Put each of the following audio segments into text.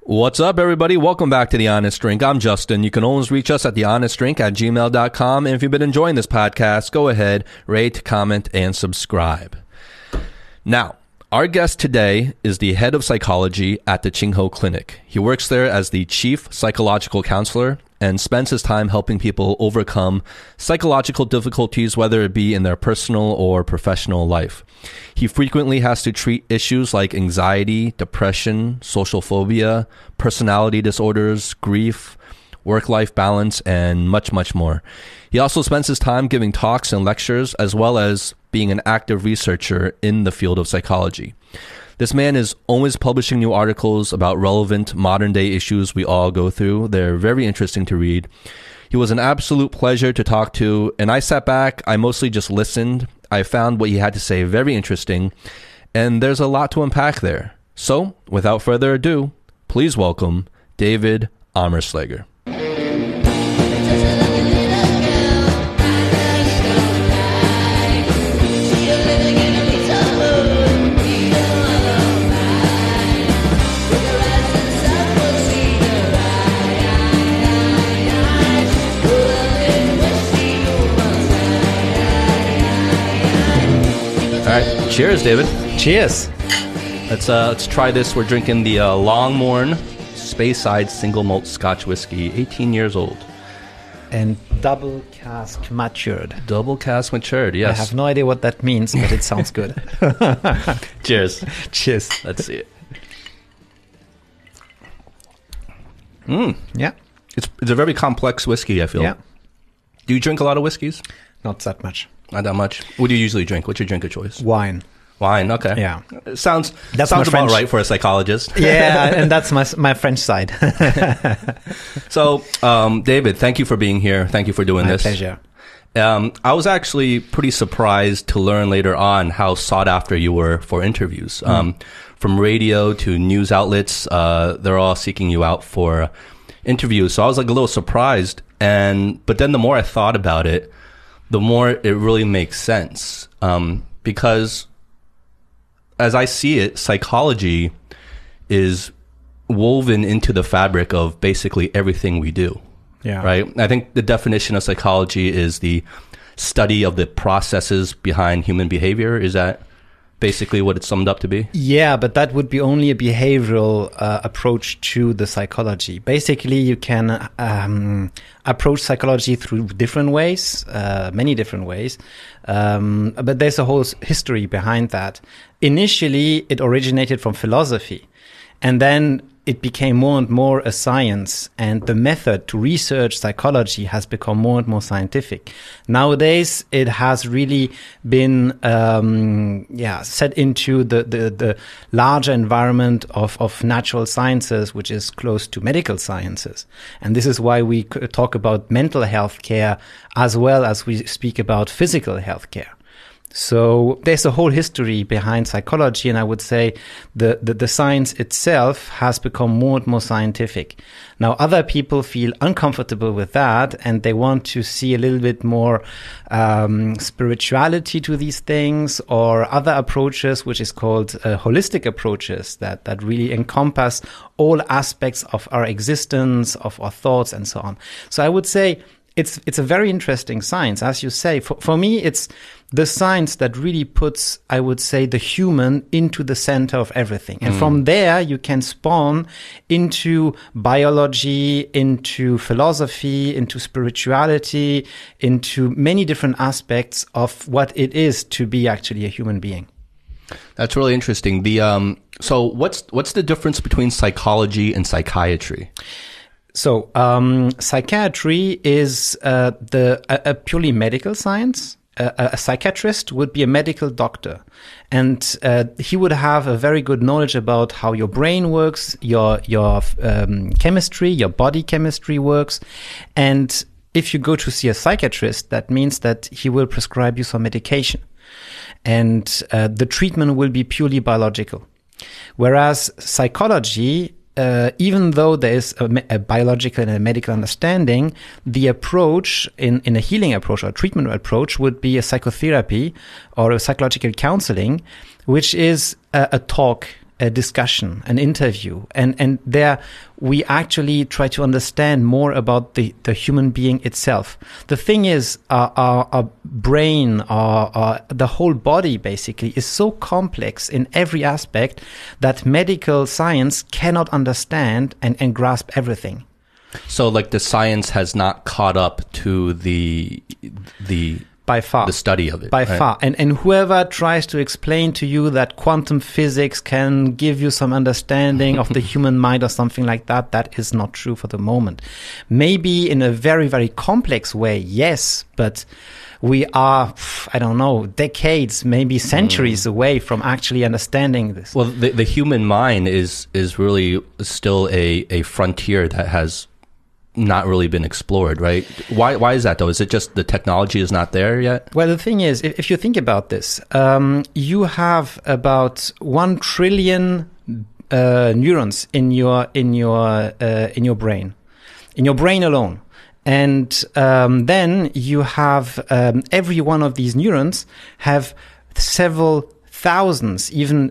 What's up, everybody? Welcome back to The Honest Drink. I'm Justin. You can always reach us at thehonestdrink@gmail.com. And if you've been enjoying this podcast, go ahead, rate, comment, and subscribe. Now, our guest today is the head of psychology at the Ching Ho Clinic. He works there as the chief psychological counselor and spends his time helping people overcome psychological difficulties, whether it be in their personal or professional life. He frequently has to treat issues like anxiety, depression, social phobia, personality disorders, grief, work-life balance, and much, much more. He also spends his time giving talks and lectures, as well as being an active researcher in the field of psychology. This man is always publishing new articles about relevant modern-day issues we all go through. They're very interesting to read. He was an absolute pleasure to talk to, and I sat back. I mostly just listened. I found what he had to say very interesting, and there's a lot to unpack there. So, without further ado, please welcome David Ammerschlager. Cheers, David. Cheers. Let's try this. We're drinking the Longmorn Speyside Single Malt Scotch Whiskey, 18 years old. And double cask matured. Double cask matured, yes. I have no idea what that means, but it sounds good. Cheers. Cheers. Let's see it. Yeah. It's a very complex whiskey, I feel. Yeah. Do you drink a lot of whiskeys? Not that much. Not that much. What do you usually drink? What's your drink of choice? Wine. Wine, okay. Yeah. Sounds that's about right for a psychologist. Yeah, and that's my French side. So, David, thank you for being here. Thank you for doing this. My pleasure. I was actually pretty surprised to learn later on how sought after you were for interviews. From radio to news outlets, they're all seeking you out for interviews. So I was like a little surprised. But then the more I thought about it, the more it really makes sense. Because as I see it, psychology is woven into the fabric of basically everything we do. Yeah. Right? I think the definition of psychology is the study of the processes behind human behavior. Is that basically what it's summed up to be? Yeah, but that would be only a behavioral approach to the psychology. Basically, you can approach psychology through different ways, many different ways. But there's a whole history behind that. Initially, it originated from philosophy, and then it became more and more a science, and the method to research psychology has become more and more scientific. Nowadays, it has really been set into the larger environment of natural sciences, which is close to medical sciences. And this is why we talk about mental health care as well as we speak about physical health care. So there's a whole history behind psychology, and I would say the science itself has become more and more scientific. Now, other people feel uncomfortable with that, and they want to see a little bit more spirituality to these things, or other approaches, which is called holistic approaches that really encompass all aspects of our existence, of our thoughts, and so on. So I would say it's a very interesting science. As you say, for me, it's the science that really puts, I would say, the human into the center of everything. And from there, you can spawn into biology, into philosophy, into spirituality, into many different aspects of what it is to be actually a human being. That's really interesting. So what's the difference between psychology and psychiatry? So, psychiatry is a purely medical science. A psychiatrist would be a medical doctor, and he would have a very good knowledge about how your brain works, your chemistry, your body chemistry works. And if you go to see a psychiatrist, that means that he will prescribe you some medication, and the treatment will be purely biological. Whereas psychology, even though there is a biological and a medical understanding, the approach in a healing approach or a treatment approach would be a psychotherapy or a psychological counseling, which is a talk a discussion, an interview, and there we actually try to understand more about the human being itself. The thing is, our brain, the whole body basically is so complex in every aspect that medical science cannot understand and grasp everything. So like the science has not caught up to the by far, the study of it. By right? far. And whoever tries to explain to you that quantum physics can give you some understanding of the human mind or something like that, that is not true for the moment. Maybe in a very, very complex way, yes, but we are, I don't know, decades, maybe centuries away from actually understanding this. Well, the human mind is really still a frontier that has not really been explored, right? Why is that though? Is it just the technology is not there yet? Well, the thing is, if you think about this, you have about 1 trillion neurons in your brain alone. And then you have every one of these neurons have several thousands, even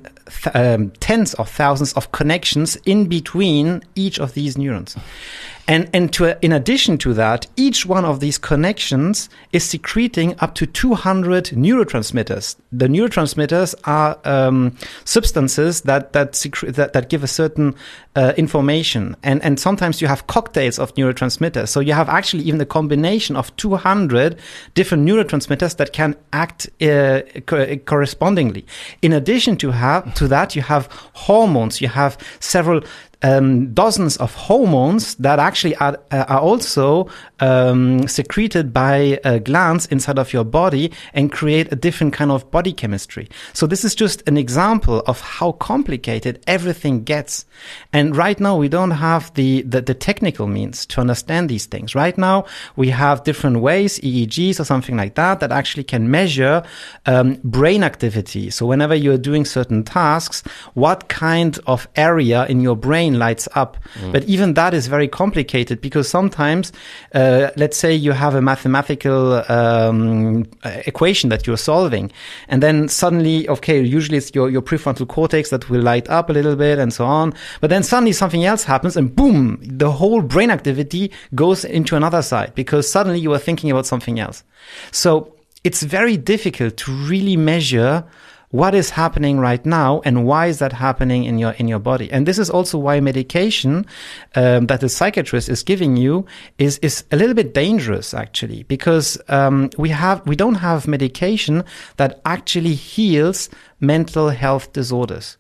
tens of thousands of connections in between each of these neurons. And in addition to that, each one of these connections is secreting up to 200 neurotransmitters. The neurotransmitters are substances that give a certain information, and sometimes you have cocktails of neurotransmitters. So you have actually even a combination of 200 different neurotransmitters that can act correspondingly. In addition to that, you have hormones. You have several dozens of hormones that actually are also secreted by glands inside of your body and create a different kind of body chemistry. So this is just an example of how complicated everything gets. And right now we don't have the technical means to understand these things. Right now we have different ways, EEGs or something like that actually can measure brain activity. So whenever you're doing certain tasks, what kind of area in your brain lights up. But even that is very complicated because sometimes, let's say you have a mathematical equation that you're solving, and then suddenly, okay, usually it's your prefrontal cortex that will light up a little bit and so on. But then suddenly something else happens and boom, the whole brain activity goes into another side because suddenly you are thinking about something else. So it's very difficult to really measure what is happening right now and why is that happening in your body. And this is also why medication that the psychiatrist is giving you is a little bit dangerous actually, because we don't have medication that actually heals mental health disorders.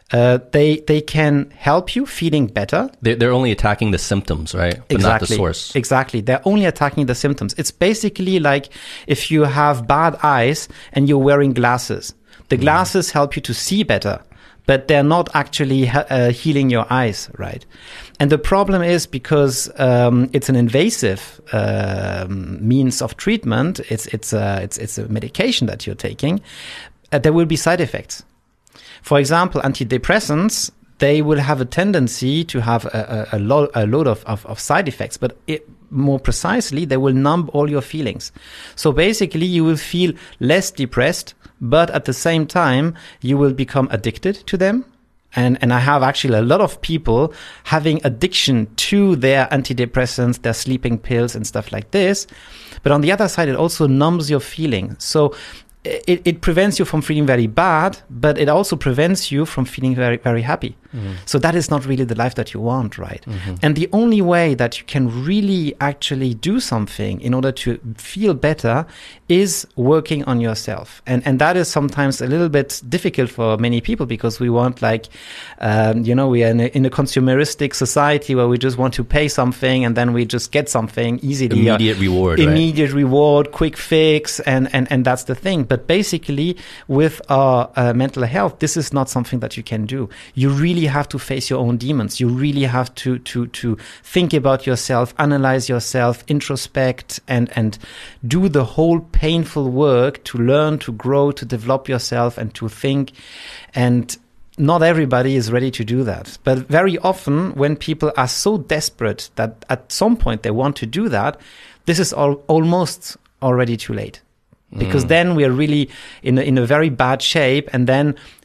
They can help you feeling better. They're only attacking the symptoms, right? But exactly. Not the source. Exactly. They're only attacking the symptoms. It's basically like if you have bad eyes and you're wearing glasses. The glasses help you to see better, but they're not actually healing your eyes, right? And the problem is because it's an invasive means of treatment. It's a medication that you're taking. There will be side effects. For example, antidepressants, they will have a tendency to have a load of side effects, but more precisely, they will numb all your feelings. So basically, you will feel less depressed, but at the same time, you will become addicted to them. And I have actually a lot of people having addiction to their antidepressants, their sleeping pills and stuff like this. But on the other side, it also numbs your feeling. So it prevents you from feeling very bad, but it also prevents you from feeling very, very happy. So that is not really the life that you want, right? And the only way that you can really actually do something in order to feel better is working on yourself. And that is sometimes a little bit difficult for many people because we want we are in a consumeristic society where we just want to pay something and then we just get something easily. Immediate reward, Immediate reward, quick fix, and that's the thing. But basically, with our mental health, this is not something that you can do. You really have to face your own demons. You really have to think about yourself, analyze yourself, introspect, and do the whole painful work to learn, to grow, to develop yourself, and to think. And not everybody is ready to do that. But very often, when people are so desperate that at some point they want to do that, this is almost already too late. Because then we are really in a very bad shape, and then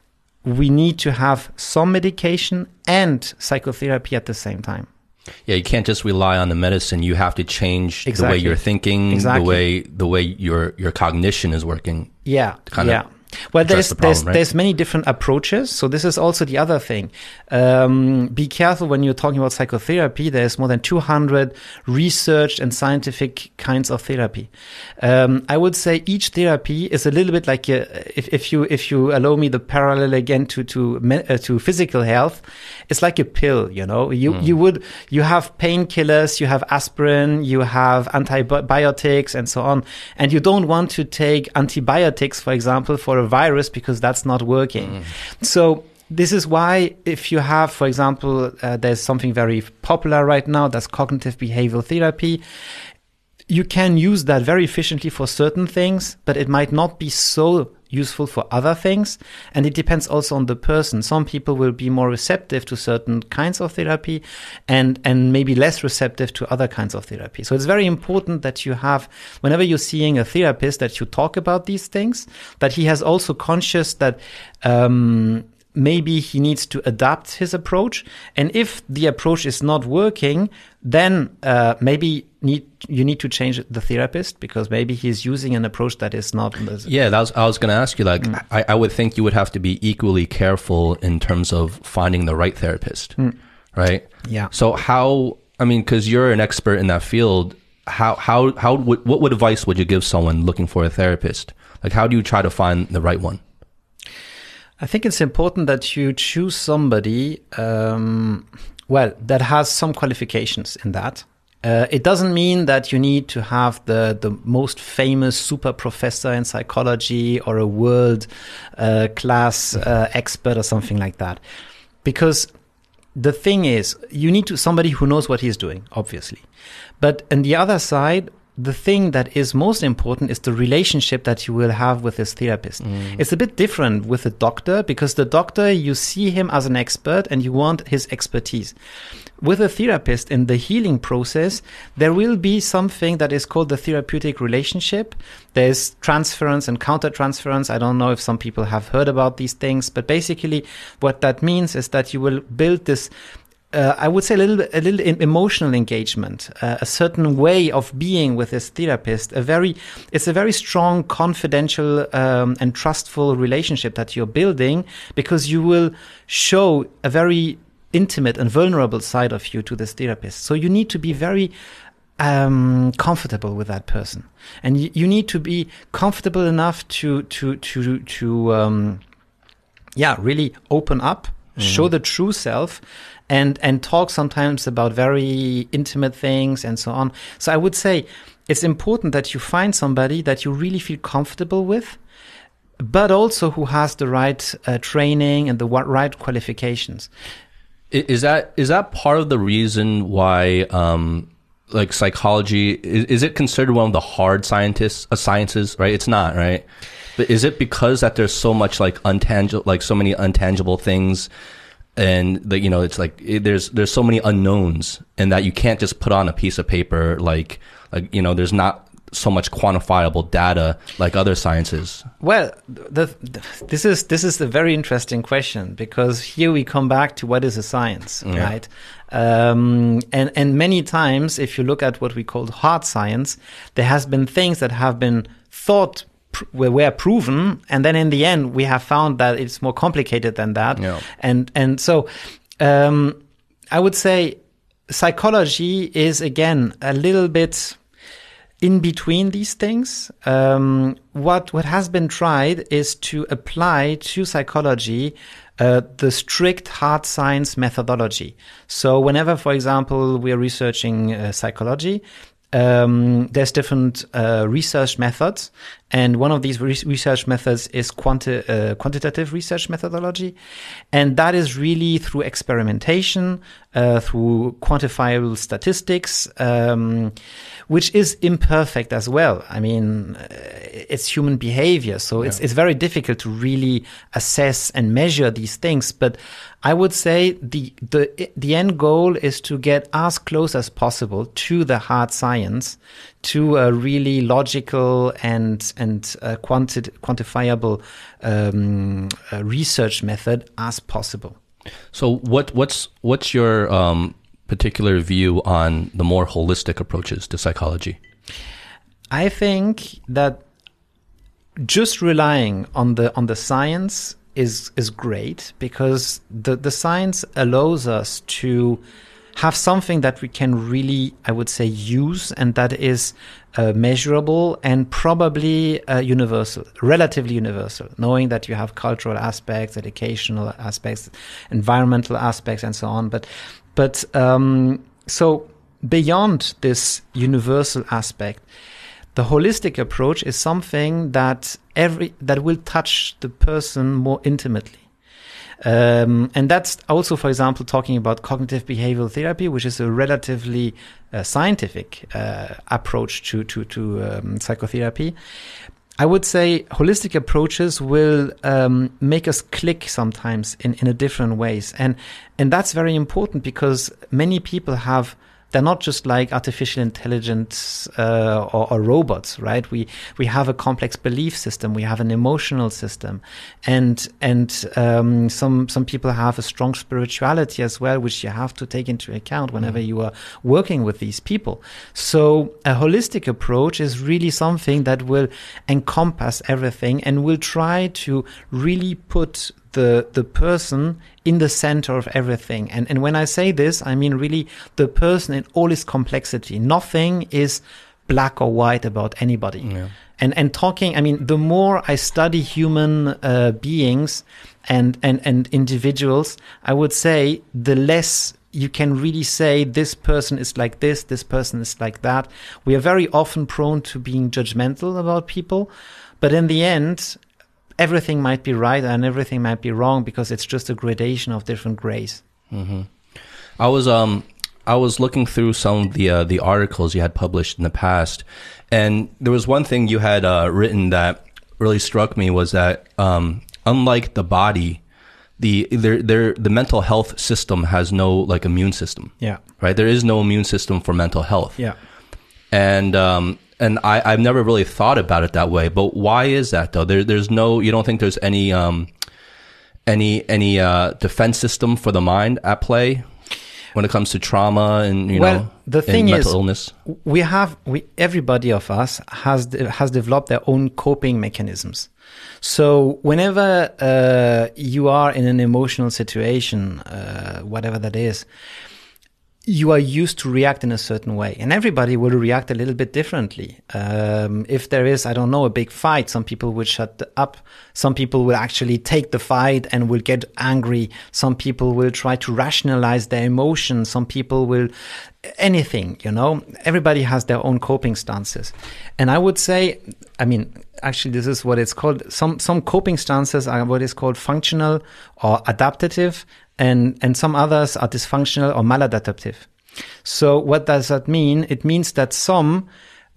we need to have some medication and psychotherapy at the same time. Yeah, you can't just rely on the medicine. You have to change the way Exactly. you're thinking, Exactly. the way your cognition is working. Yeah, kind of yeah. Well, address the problem, right? there's many different approaches. So this is also the other thing. Be careful when you're talking about psychotherapy. There's more than 200 researched and scientific kinds of therapy. I would say each therapy is a little bit like if you allow me the parallel again to physical health, it's like a pill. You know, you have painkillers, you have aspirin, you have antibiotics, and so on, and you don't want to take antibiotics, for example, for a virus because that's not working. So this is why if you have, for example, there's something very popular right now, that's cognitive behavioral therapy. You can use that very efficiently for certain things, but it might not be so useful for other things. And it depends also on the person. Some people will be more receptive to certain kinds of therapy and maybe less receptive to other kinds of therapy. So it's very important that you have, whenever you're seeing a therapist, that you talk about these things, that he has also conscious that, maybe he needs to adapt his approach. And if the approach is not working, then maybe you need to change the therapist because maybe he's using an approach that is not. Yeah, I was going to ask you, like, I would think you would have to be equally careful in terms of finding the right therapist, right? Yeah. So because you're an expert in that field, what advice would you give someone looking for a therapist? Like, how do you try to find the right one? I think it's important that you choose somebody, that has some qualifications in that. It doesn't mean that you need to have the most famous super professor in psychology or a world class expert or something like that. Because the thing is, you need somebody who knows what he's doing, obviously. But on the other side, the thing that is most important is the relationship that you will have with this therapist. It's a bit different with a doctor because the doctor, you see him as an expert and you want his expertise. With a therapist in the healing process, there will be something that is called the therapeutic relationship. There's transference and countertransference. I don't know if some people have heard about these things, but basically what that means is that you will build this I would say a little emotional engagement, a certain way of being with this therapist. It's a very strong, confidential and trustful relationship that you're building because you will show a very intimate and vulnerable side of you to this therapist. So you need to be very comfortable with that person, and you need to be comfortable enough to really open up, show the true self. And talk sometimes about very intimate things and so on. So I would say it's important that you find somebody that you really feel comfortable with, but also who has the right training and the right qualifications. Is that part of the reason why, like psychology, is it considered one of the hard sciences, right? It's not, right? But is it because that there's so much like so many untangible things? And it's like there's so many unknowns, and that you can't just put on a piece of paper like there's not so much quantifiable data like other sciences. Well, this is a very interesting question because here we come back to what is a science, right? And many times, if you look at what we call hard science, there has been things that have been thought were proven, and then in the end we have found that it's more complicated than that. Yeah. And so I would say psychology is again a little bit in between these things. What has been tried is to apply to psychology the strict hard science methodology. So whenever, for example, we are researching psychology, there's different research methods, and one of these research methods is quantitative research methodology, and that is really through experimentation, through quantifiable statistics, which is imperfect as well. I mean, it's human behavior, so it's very difficult to really assess and measure these things. But I would say the end goal is to get as close as possible to the hard science, to a really logical and quantifiable research method as possible. So what's your particular view on the more holistic approaches to psychology? I think that just relying on the science is great, because the science allows us to have something that we can really, I would say, use, and that is measurable and probably universal, relatively universal, knowing that you have cultural aspects, educational aspects, environmental aspects, and so on. But so beyond this universal aspect, the holistic approach is something that will touch the person more intimately. And that's also, for example, talking about cognitive behavioral therapy, which is a relatively scientific approach to psychotherapy. I would say holistic approaches will make us click sometimes in a different ways. And that's very important, because many people they're not just like artificial intelligence or robots, right? We have a complex belief system, we have an emotional system, and some people have a strong spirituality as well, which you have to take into account whenever you are working with these people. So a holistic approach is really something that will encompass everything and will try to really put the person in the center of everything. And when I say this, I mean really the person in all its complexity. Nothing is black or white about anybody. Yeah. And talking, I mean, the more I study human beings and individuals, I would say the less you can really say this person is like this person is like that. We are very often prone to being judgmental about people, but in the end, everything might be right and everything might be wrong, because it's just a gradation of different grays. Mm-hmm. I was looking through some of the articles you had published in the past, and there was one thing you had written that really struck me, was that unlike the body, the mental health system has no like immune system. Yeah. Right. There is no immune system for mental health. Yeah. And I've never really thought about it that way. But why is that though? There's no, you don't think there's any defense system for the mind at play when it comes to trauma and the thing mental is, illness? Everybody of us has developed their own coping mechanisms. So whenever you are in an emotional situation, whatever that is, you are used to react in a certain way, and everybody will react a little bit differently. If there is, I don't know, a big fight, some people will shut up. Some people will actually take the fight and will get angry. Some people will try to rationalize their emotions. Some people will anything, everybody has their own coping stances. And I would say, I mean, actually, this is what it's called. Some coping stances are what is called functional or adaptive, and some others are dysfunctional or maladaptive. So what does that mean? It means that some,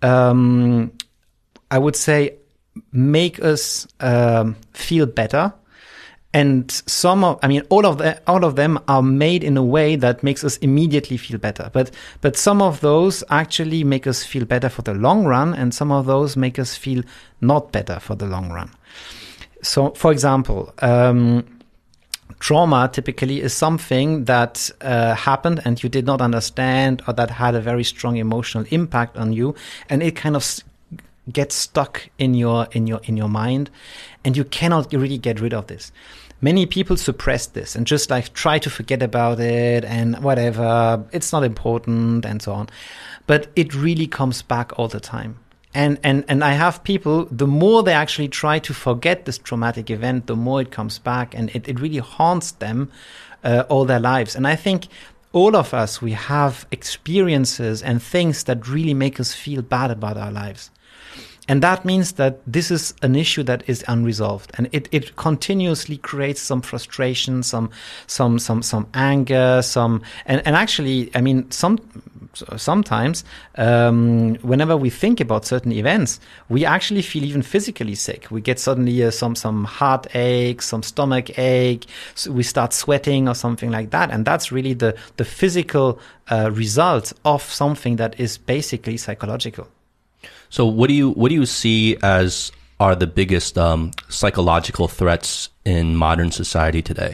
I would say, make us feel better, and all of them are made in a way that makes us immediately feel better. But some of those actually make us feel better for the long run, and some of those make us feel not better for the long run. So, for example, trauma typically is something that happened and you did not understand, or that had a very strong emotional impact on you, and it kind of gets stuck in your mind, and you cannot really get rid of this. Many people suppress this and just like try to forget about it and whatever, it's not important and so on. But it really comes back all the time. And I have people, the more they actually try to forget this traumatic event, the more it comes back, and it really haunts them all their lives. And I think all of us, we have experiences and things that really make us feel bad about our lives. And that means that this is an issue that is unresolved, and it continuously creates some frustration, some anger, and actually, I mean, sometimes whenever we think about certain events, we actually feel even physically sick. We get suddenly some heartache, some stomach ache, so we start sweating or something like that, and that's really the physical result of something that is basically psychological. So what do you see as are the biggest psychological threats in modern society today?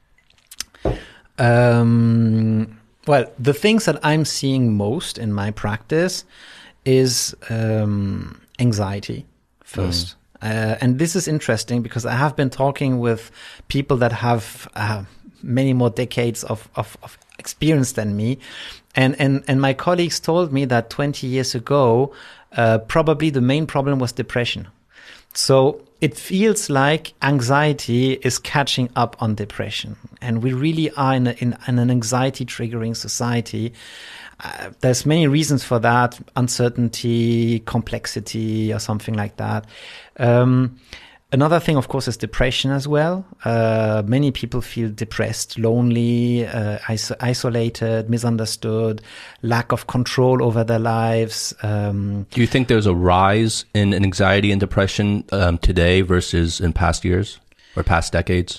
Well, the things that I'm seeing most in my practice is anxiety first. And this is interesting because I have been talking with people that have many more decades of experience than me. And my colleagues told me that 20 years ago, probably the main problem was depression. So it feels like anxiety is catching up on depression. And we really are in an anxiety triggering society. There's many reasons for that: uncertainty, complexity, or something like that. Another thing, of course, is depression as well. Many people feel depressed, lonely, isolated, misunderstood, lack of control over their lives. Do you think there's a rise in anxiety and depression today versus in past years or past decades?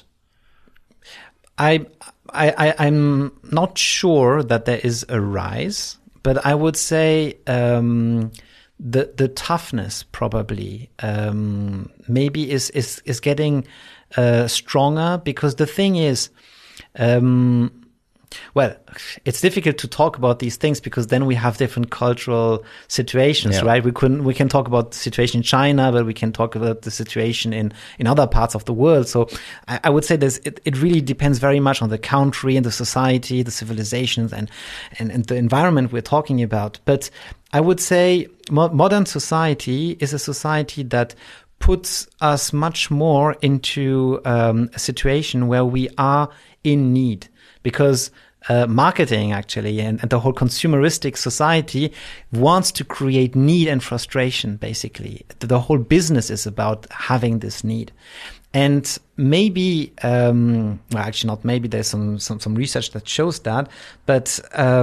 I'm not sure that there is a rise, but I would say the toughness probably maybe is getting stronger, because the thing is, well, it's difficult to talk about these things because then we have different cultural situations, right? We can talk about the situation in China, but we can talk about the situation in other parts of the world. So I would say it really depends very much on the country and the society, the civilizations and the environment we're talking about. But I would say modern society is a society that puts us much more into a situation where we are in need, because marketing actually and the whole consumeristic society wants to create need and frustration, basically. The whole business is about having this need. And maybe, well, actually not maybe, there's some research that shows that, but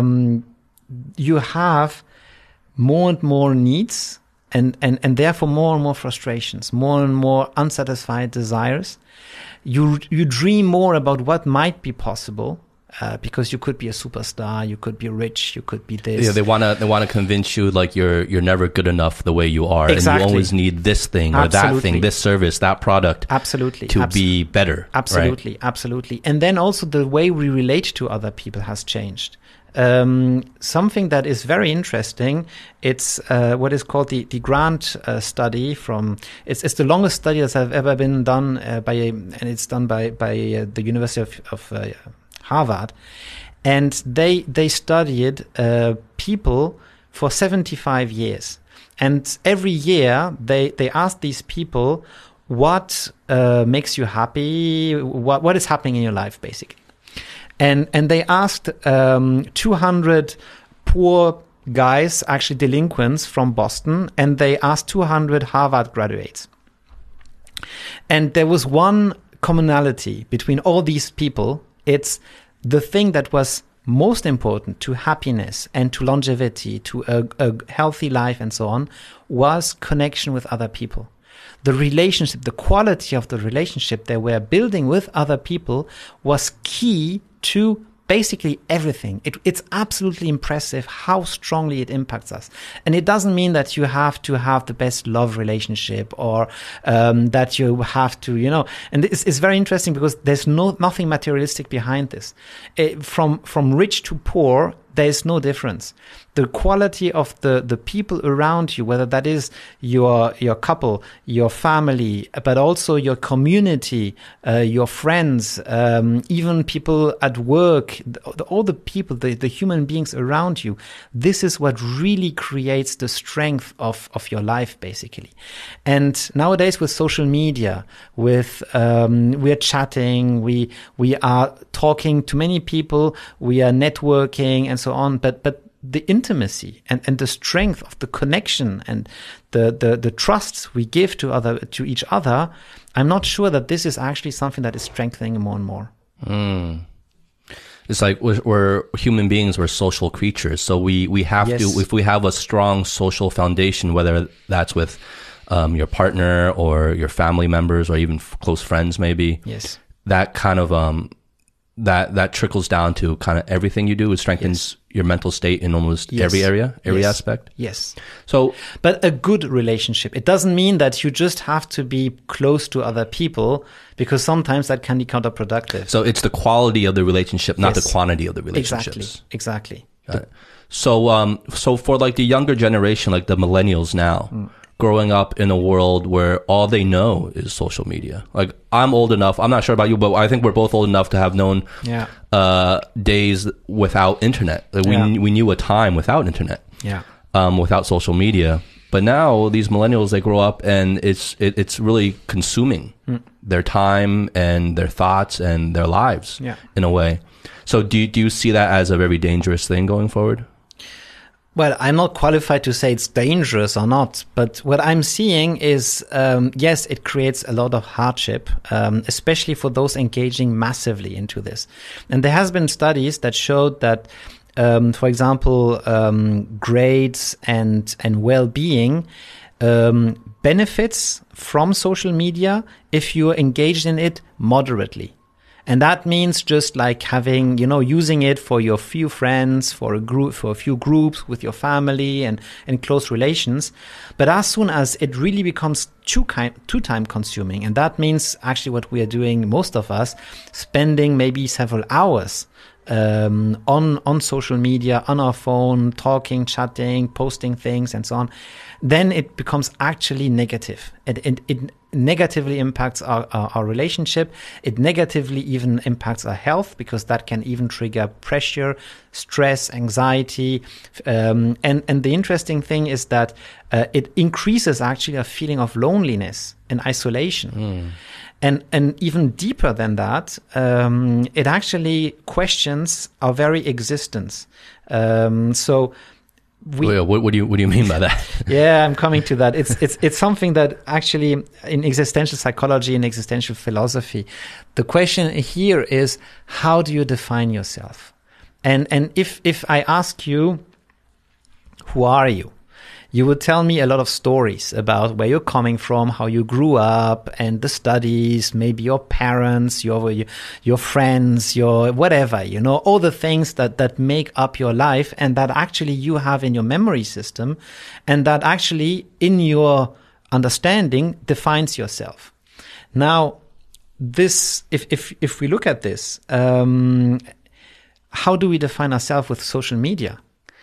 you have more and more needs and therefore more and more frustrations, more and more unsatisfied desires. You dream more about what might be possible, because you could be a superstar, you could be rich, you could be this. Yeah, they wanna convince you like you're never good enough the way you are, exactly. And you always need this thing or that thing, this service, that product, to be better. Absolutely, right? Absolutely. And then also the way we relate to other people has changed. Something that is very interesting, it's what is called the Grant study from, it's the longest study that has ever been done and it's done by the University of Harvard, and they studied people for 75 years, and every year they asked these people what makes you happy, what is happening in your life, basically. And they asked 200 poor guys, actually delinquents from Boston, and they asked 200 Harvard graduates. And there was one commonality between all these people. It's the thing that was most important to happiness and to longevity, to a healthy life and so on, was connection with other people. The relationship, the quality of the relationship they were building with other people was key to basically everything. It's absolutely impressive how strongly it impacts us. And it doesn't mean that you have to have the best love relationship or that you have to, and it's very interesting because there's nothing materialistic behind this. From rich to poor, there's no difference. The quality of the people around you, whether that is your couple, your family, but also your community, your friends, even people at work, all the people, the human beings around you, this is what really creates the strength of your life, basically. And nowadays with social media, with we're chatting, we are talking to many people, we are networking and so on, but the intimacy and the strength of the connection and the trust we give to each other, I'm not sure that this is actually something that is strengthening more and more. It's like we're human beings, we're social creatures. So we have to, if we have a strong social foundation, whether that's with your partner or your family members or even close friends, maybe. Yes. That kind of, that trickles down to kind of everything you do. It strengthens your mental state in almost every area, every aspect. Yes. So, but a good relationship, it doesn't mean that you just have to be close to other people, because sometimes that can be counterproductive. So it's the quality of the relationship, not the quantity of the relationships. Exactly. So, so for like the younger generation, like the millennials now, growing up in a world where all they know is social media. Like, I'm old enough, I'm not sure about you, but I think we're both old enough to have known days without internet. Like we knew a time without internet, without social media. But now these millennials, they grow up and it's really consuming their time and their thoughts and their lives in a way. So do you see that as a very dangerous thing going forward? Well, I'm not qualified to say it's dangerous or not, but what I'm seeing is, yes, it creates a lot of hardship, especially for those engaging massively into this. And there has been studies that showed that, for example, grades and well-being benefits from social media if you're engaged in it moderately. And that means just like having, using it for your few friends, for a few groups with your family and close relations. But as soon as it really becomes too time consuming, and that means actually what we are doing, most of us, spending maybe several hours on social media, on our phone, talking, chatting, posting things and so on, then it becomes actually negative. It negatively impacts our relationship. It negatively even impacts our health, because that can even trigger pressure, stress, anxiety. And the interesting thing is that it increases actually a feeling of loneliness and isolation. And even deeper than that, it actually questions our very existence. What do you mean by that? Yeah, I'm coming to that. It's something that actually in existential psychology and existential philosophy, the question here is, how do you define yourself? And if I ask you, who are you? You would tell me a lot of stories about where you're coming from, how you grew up, and the studies, maybe your parents, your friends, your whatever, all the things that make up your life and that actually you have in your memory system, and that actually in your understanding defines yourself. Now, this, if we look at this, how do we define ourselves with social media?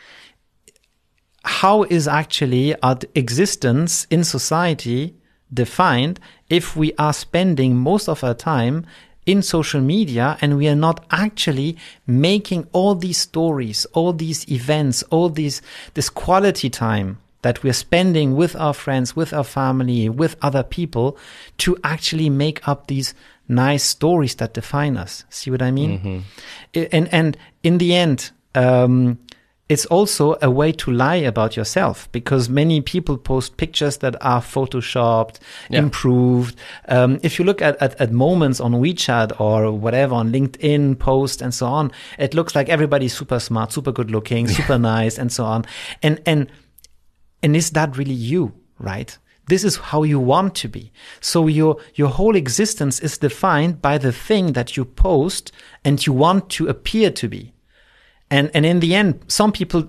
How is actually our existence in society defined if we are spending most of our time in social media and we are not actually making all these stories, all these events, this quality time that we're spending with our friends, with our family, with other people, to actually make up these nice stories that define us. See what I mean? And in the end, it's also a way to lie about yourself, because many people post pictures that are photoshopped, improved. If you look at moments on WeChat or whatever, on LinkedIn post and so on, it looks like everybody's super smart, super good looking, super nice and so on. And is that really you, right? This is how you want to be. So your whole existence is defined by the thing that you post and you want to appear to be. And in the end, some people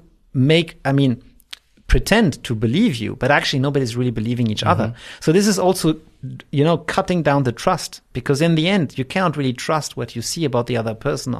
pretend to believe you, but actually nobody's really believing each other. So this is also, cutting down the trust, because in the end, you cannot really trust what you see about the other person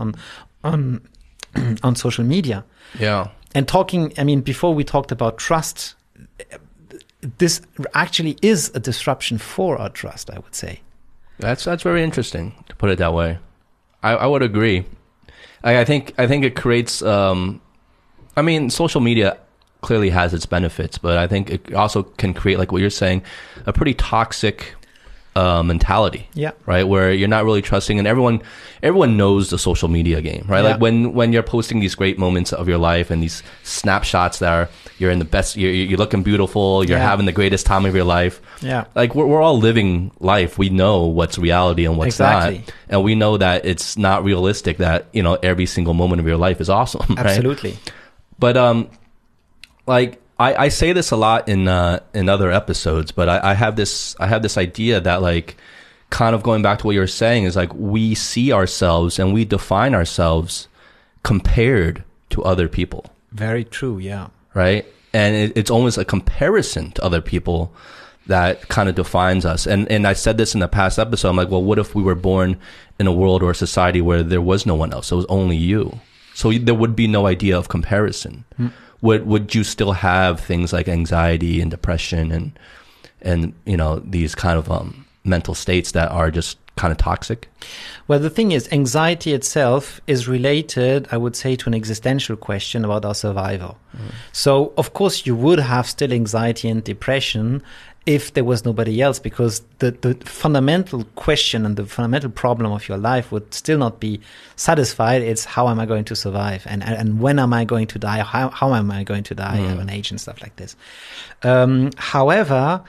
on social media. Yeah. And before we talked about trust, this actually is a disruption for our trust, I would say. That's very interesting to put it that way. I would agree. I think it creates, social media clearly has its benefits, but I think it also can create, like what you're saying, a pretty toxic mentality. Yeah. Right. Where you're not really trusting, and everyone knows the social media game, right? Yeah. Like when you're posting these great moments of your life and these snapshots that are, you're in the best, you're looking beautiful, you're having the greatest time of your life. Yeah. Like we're all living life. We know what's reality and what's not. And we know that it's not realistic that, you know, every single moment of your life is awesome. Absolutely. Right? But, like, I say this a lot in other episodes, but I have this idea that, like, kind of going back to what you were saying, is like we see ourselves and we define ourselves compared to other people. Very true. Yeah. Right. And it's almost a comparison to other people that kind of defines us. And I said this in the past episode. I'm like, well, what if we were born in a world or a society where there was no one else? It was only you. So there would be no idea of comparison. Would you still have things like anxiety and depression and you know, these kind of mental states that are just kind of toxic? Well, the thing is, anxiety itself is related, I would say, to an existential question about our survival. So, of course, you would have still anxiety and depression if there was nobody else, because the fundamental question and the fundamental problem of your life would still not be satisfied. It's how am I going to survive, and when am I going to die? How am I going to die at an age and stuff like this. However,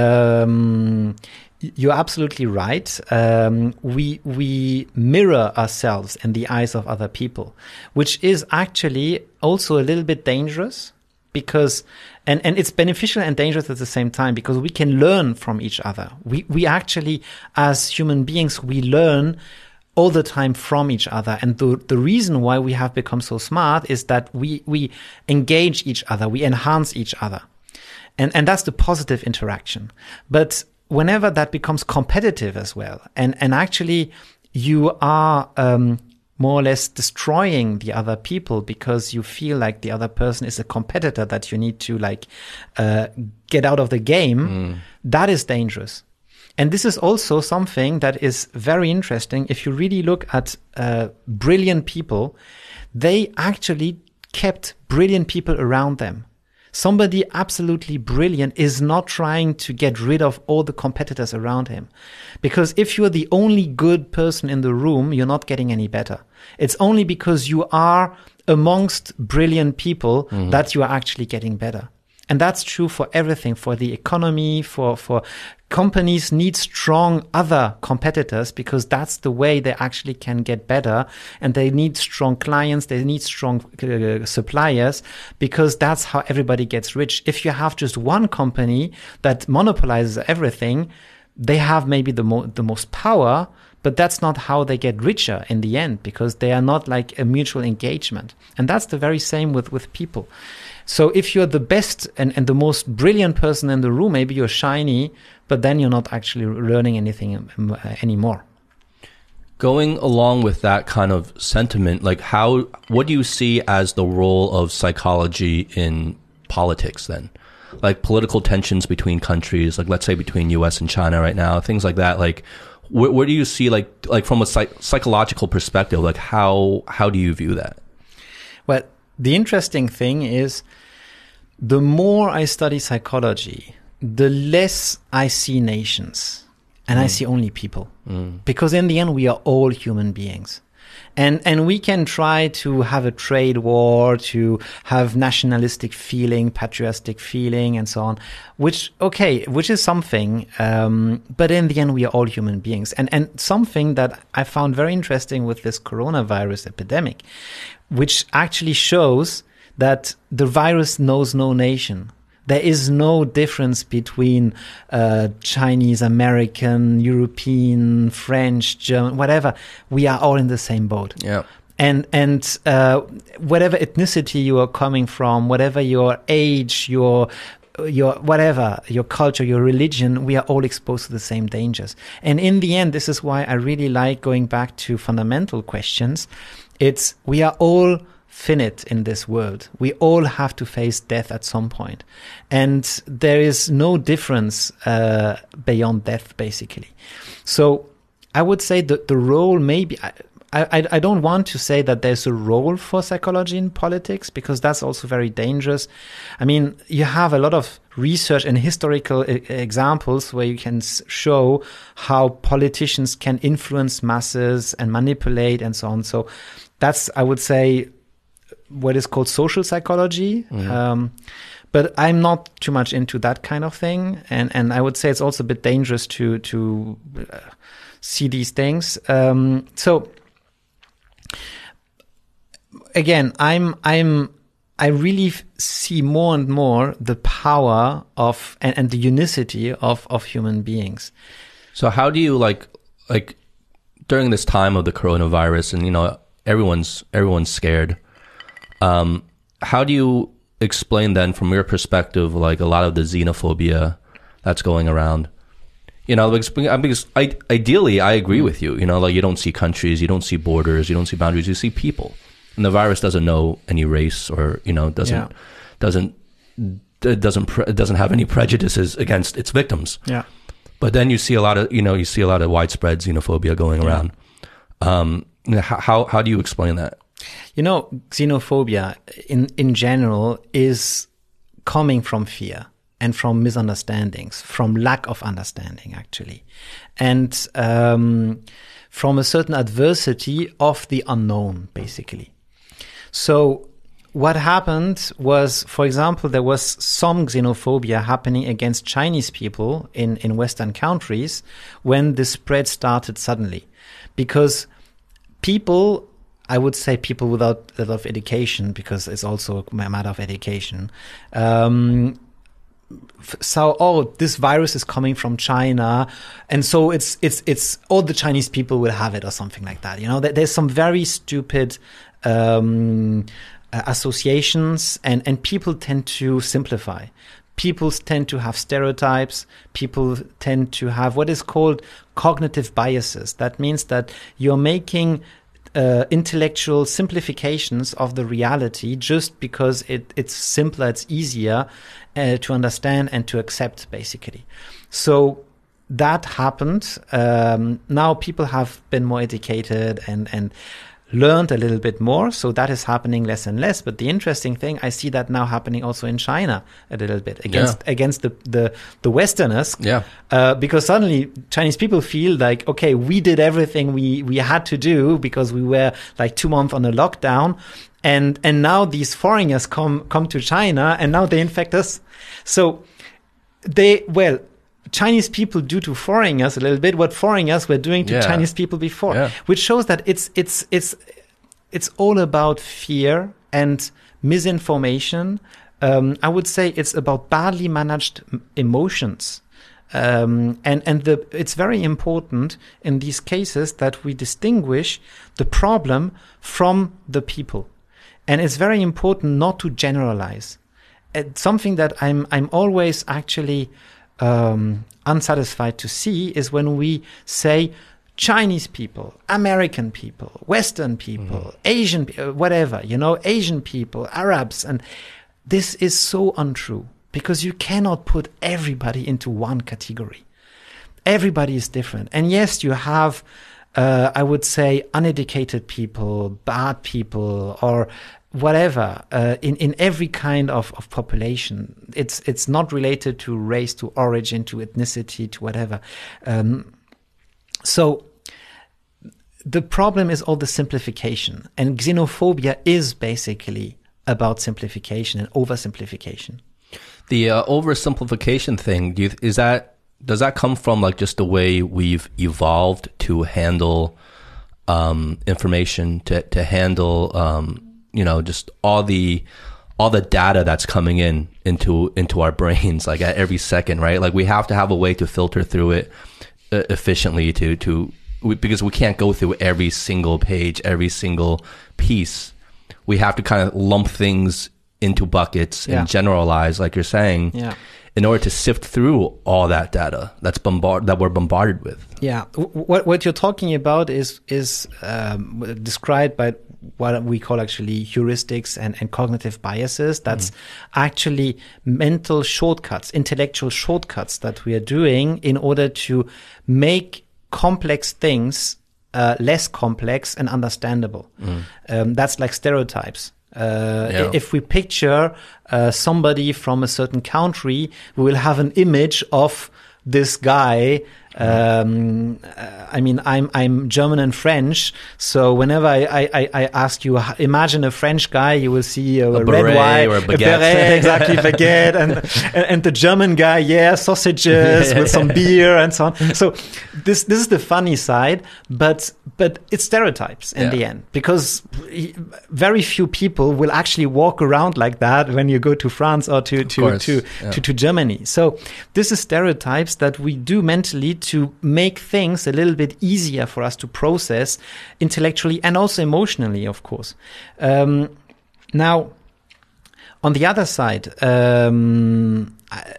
you're absolutely right. We mirror ourselves in the eyes of other people, which is actually also a little bit dangerous, because and it's beneficial and dangerous at the same time, because we can learn from each other. We actually, as human beings, we learn all the time from each other. And the reason why we have become so smart is that we engage each other, we enhance each other. And that's the positive interaction. But whenever that becomes competitive as well, and actually you are more or less destroying the other people because you feel like the other person is a competitor that you need to get out of the game, that is dangerous. And this is also something that is very interesting. If you really look at brilliant people, they actually kept brilliant people around them. Somebody absolutely brilliant is not trying to get rid of all the competitors around him. Because if you're the only good person in the room, you're not getting any better. It's only because you are amongst brilliant people that you are actually getting better. And that's true for everything, for the economy, for companies need strong other competitors, because that's the way they actually can get better. And they need strong clients, they need strong suppliers, because that's how everybody gets rich. If you have just one company that monopolizes everything, they have maybe the most power, but that's not how they get richer in the end, because they are not like a mutual engagement. And that's the very same with people. So if you're the best and the most brilliant person in the room, maybe you're shiny, but then you're not actually learning anything anymore. Going along with that kind of sentiment, like what do you see as the role of psychology in politics then? Like political tensions between countries, like let's say between US and China right now, things like that. Like where do you see like from a psychological perspective, like how do you view that? Well, the interesting thing is, the more I study psychology, the less I see nations and I see only people. Because in the end, we are all human beings. And we can try to have a trade war, to have nationalistic feeling, patriotic feeling, and so on, which is something. But in the end, we are all human beings. And something that I found very interesting with this coronavirus epidemic, which actually shows that the virus knows no nation. There is no difference between Chinese, American, European, French, German, whatever. We are all in the same boat. Yeah. And whatever ethnicity you are coming from, whatever your age, your whatever, your culture, your religion, we are all exposed to the same dangers. And in the end, this is why I really like going back to fundamental questions. We are all finite in this world. We all have to face death at some point. And there is no difference beyond death, basically. So I would say that the role maybe... I don't want to say that there's a role for psychology in politics, because that's also very dangerous. I mean, you have a lot of research and historical examples where you can show how politicians can influence masses and manipulate and so on. So that's, I would say, what is called social psychology. But I'm not too much into that kind of thing. And I would say it's also a bit dangerous to see these things. So again, I really see more and more the power of and the unity of human beings. So how do you like during this time of the coronavirus and, you know, everyone's scared. How do you explain then from your perspective, like a lot of the xenophobia that's going around? You know, because ideally I agree with you, you know, like you don't see countries, you don't see borders, you don't see boundaries, you see people. And the virus doesn't know any race or, you know, doesn't have any prejudices against its victims. Yeah. But then you see a lot of widespread xenophobia going around. How do you explain that? You know, xenophobia in general is coming from fear and from misunderstandings, from lack of understanding, actually. And from a certain adversity of the unknown, basically. So what happened was, for example, there was some xenophobia happening against Chinese people in Western countries when the spread started suddenly. Because people, I would say people without a lot of education, because it's also a matter of education, so, this virus is coming from China, and so it's all the Chinese people will have it or something like that. You know, there's some very stupid associations, and people tend to simplify. People tend to have stereotypes. People tend to have what is called cognitive biases. That means that you're making intellectual simplifications of the reality just because it's simpler, it's easier to understand and to accept, basically. So that happened. Now people have been more educated and learned a little bit more. So that is happening less and less. But the interesting thing, I see that now happening also in China a little bit against the Westerners. Yeah. Because suddenly Chinese people feel like, okay, we did everything we had to do because we were like 2 months on a lockdown. And now these foreigners come to China and now they infect us. So Chinese people do to foreigners a little bit what foreigners were doing to Chinese people before, which shows that it's all about fear and misinformation. I would say it's about badly managed emotions. It's very important in these cases that we distinguish the problem from the people. And it's very important not to generalize. It's something that I'm always actually unsatisfied to see is when we say Chinese people, American people, Western people, Asian, whatever, you know, Asian people, Arabs. And this is so untrue because you cannot put everybody into one category. Everybody is different. And yes, you have, I would say, uneducated people, bad people, or whatever, in every kind of population. It's not related to race, to origin, to ethnicity, to whatever. So the problem is all the simplification, and xenophobia is basically about simplification and oversimplification. The oversimplification thing, does that come from like just the way we've evolved to handle information, to handle you know, just all the data that's coming into our brains, like at every second, right? Like we have to have a way to filter through it efficiently because we can't go through every single page, every single piece. We have to kind of lump things into buckets and generalize, like you're saying, in order to sift through all that data that we're bombarded with. Yeah, what you're talking about is described by what we call actually heuristics and cognitive biases. That's actually mental shortcuts, intellectual shortcuts that we are doing in order to make complex things less complex and understandable. That's like stereotypes. If we picture somebody from a certain country, we will have an image of this guy. I mean, I'm German and French, so whenever I ask you, imagine a French guy, you will see a red wine or a baguette. A beret, exactly, baguette, and the German guy, sausages with some beer and so on. So this is the funny side, but it's stereotypes in the end, because very few people will actually walk around like that when you go to France or to Germany. So this is stereotypes that we do mentally to make things a little bit easier for us to process intellectually and also emotionally, of course. Now, on the other side, the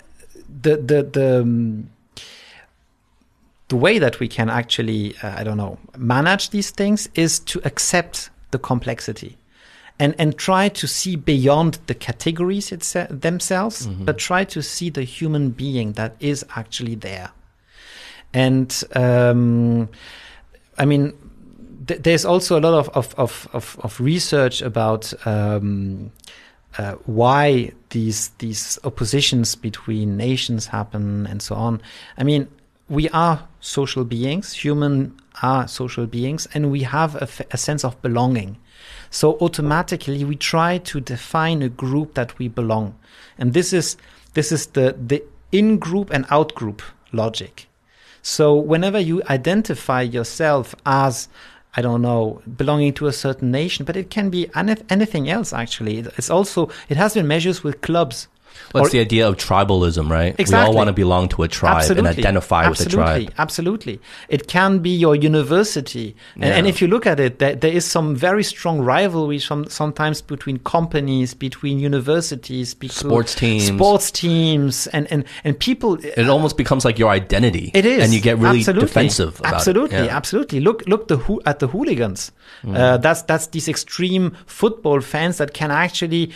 way that we can actually, manage these things is to accept the complexity and try to see beyond the categories themselves, but try to see the human being that is actually there. And there's also a lot of research about why these oppositions between nations happen and so on. I mean, we are social beings, humans are social beings, and we have a sense of belonging. So automatically we try to define a group that we belong. And this is the in-group and out-group logic. So whenever you identify yourself as, belonging to a certain nation, but it can be anything else, actually. It has been measured with clubs. Well, it's the idea of tribalism, right? Exactly. We all want to belong to a tribe and identify with the tribe. Absolutely. It can be your university. And if you look at it, there is some very strong rivalry sometimes between companies, between universities, sports teams, and people. It almost becomes like your identity. It is. And you get really defensive about it. Absolutely. Look at the hooligans. That's these extreme football fans that can actually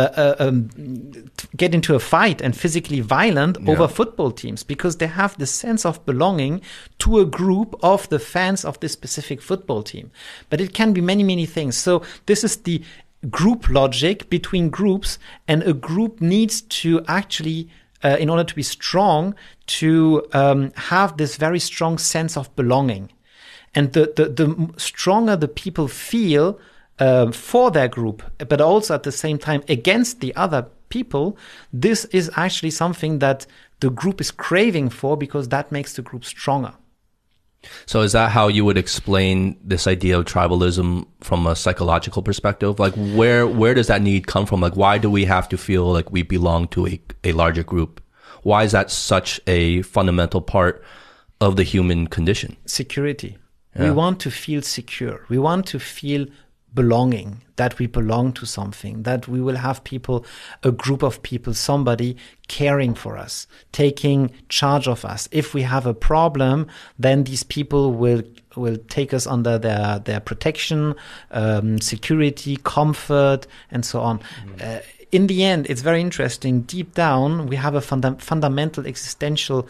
get into a fight and physically violent over football teams, because they have the sense of belonging to a group of the fans of this specific football team. But it can be many, many things. So this is the group logic between groups, and a group needs to actually, in order to be strong, to have this very strong sense of belonging. And the stronger the people feel for their group, but also at the same time against the other people, this is actually something that the group is craving for, because that makes the group stronger. So is that how you would explain this idea of tribalism from a psychological perspective? Like where does that need come from? Like, why do we have to feel like we belong to a larger group? Why is that such a fundamental part of the human condition? Security. We want to feel secure. We want to feel belonging, that we belong to something, that we will have people, a group of people, somebody caring for us, taking charge of us. If we have a problem, then these people will take us under their protection, security, comfort, and so on. In the end, it's very interesting. Deep down, we have a fundamental existential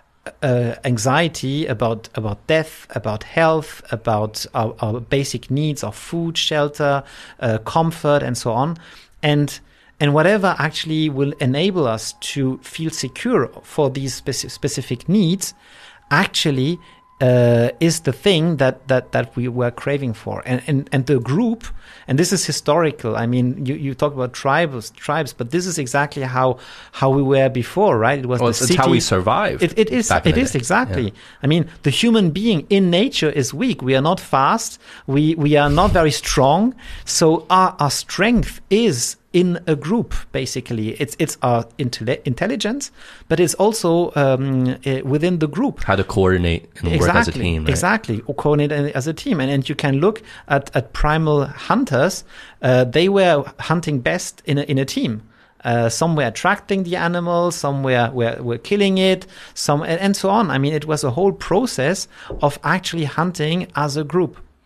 anxiety about death, about health, about our basic needs of food, shelter, comfort, and so on. And whatever actually will enable us to feel secure for these specific needs actually is the thing that we were craving for. And the group, and this is historical. I mean, you talk about tribes, but this is exactly how we were before, right? It was the city. It's how we survived. It is exactly. Yeah. I mean, the human being in nature is weak. We are not fast. We are not very strong. So our strength is in a group, basically. It's our intelligence, but it's also within the group. How to coordinate and work as a team. Right? Exactly, or coordinate as a team. And you can look at primal hunters. They were hunting best in a team. Some were attracting the animal, some were killing it, and so on. I mean, it was a whole process of actually hunting as a group.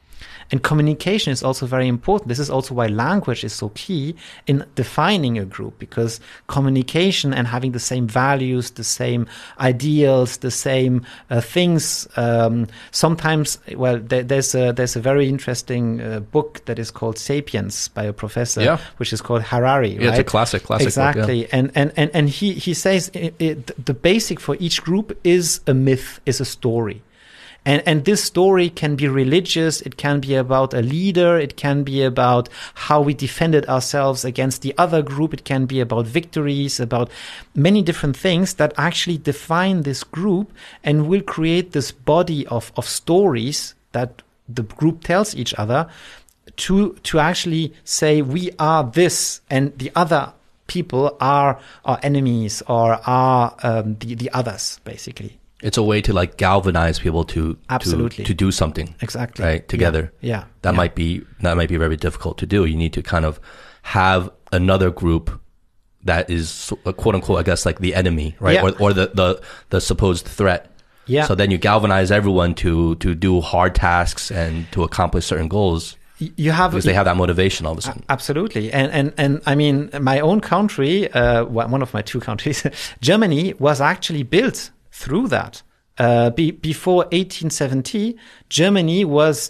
And communication is also very important. This is also why language is so key in defining a group, because communication and having the same values, the same ideals, the same things. Sometimes, well, there's a very interesting book that is called *Sapiens* by a professor, which is called Harari. Yeah, right? It's a classic exactly. book. Yeah. And he says the basic for each group is a myth, is a story. And this story can be religious, it can be about a leader, it can be about how we defended ourselves against the other group, it can be about victories, about many different things that actually define this group and will create this body of stories that the group tells each other to actually say we are this and the other people are our enemies or are the others, basically. It's a way to like galvanize people to do something. Exactly. Right. Together. Yeah. That might be very difficult to do. You need to kind of have another group that is quote unquote, I guess, like the enemy, right? Yeah. Or the supposed threat. Yeah. So then you galvanize everyone to do hard tasks and to accomplish certain goals. Because they have that motivation all of a sudden. Absolutely. And I mean, my own country, one of my two countries, Germany, was actually built through that. Before 1870, Germany was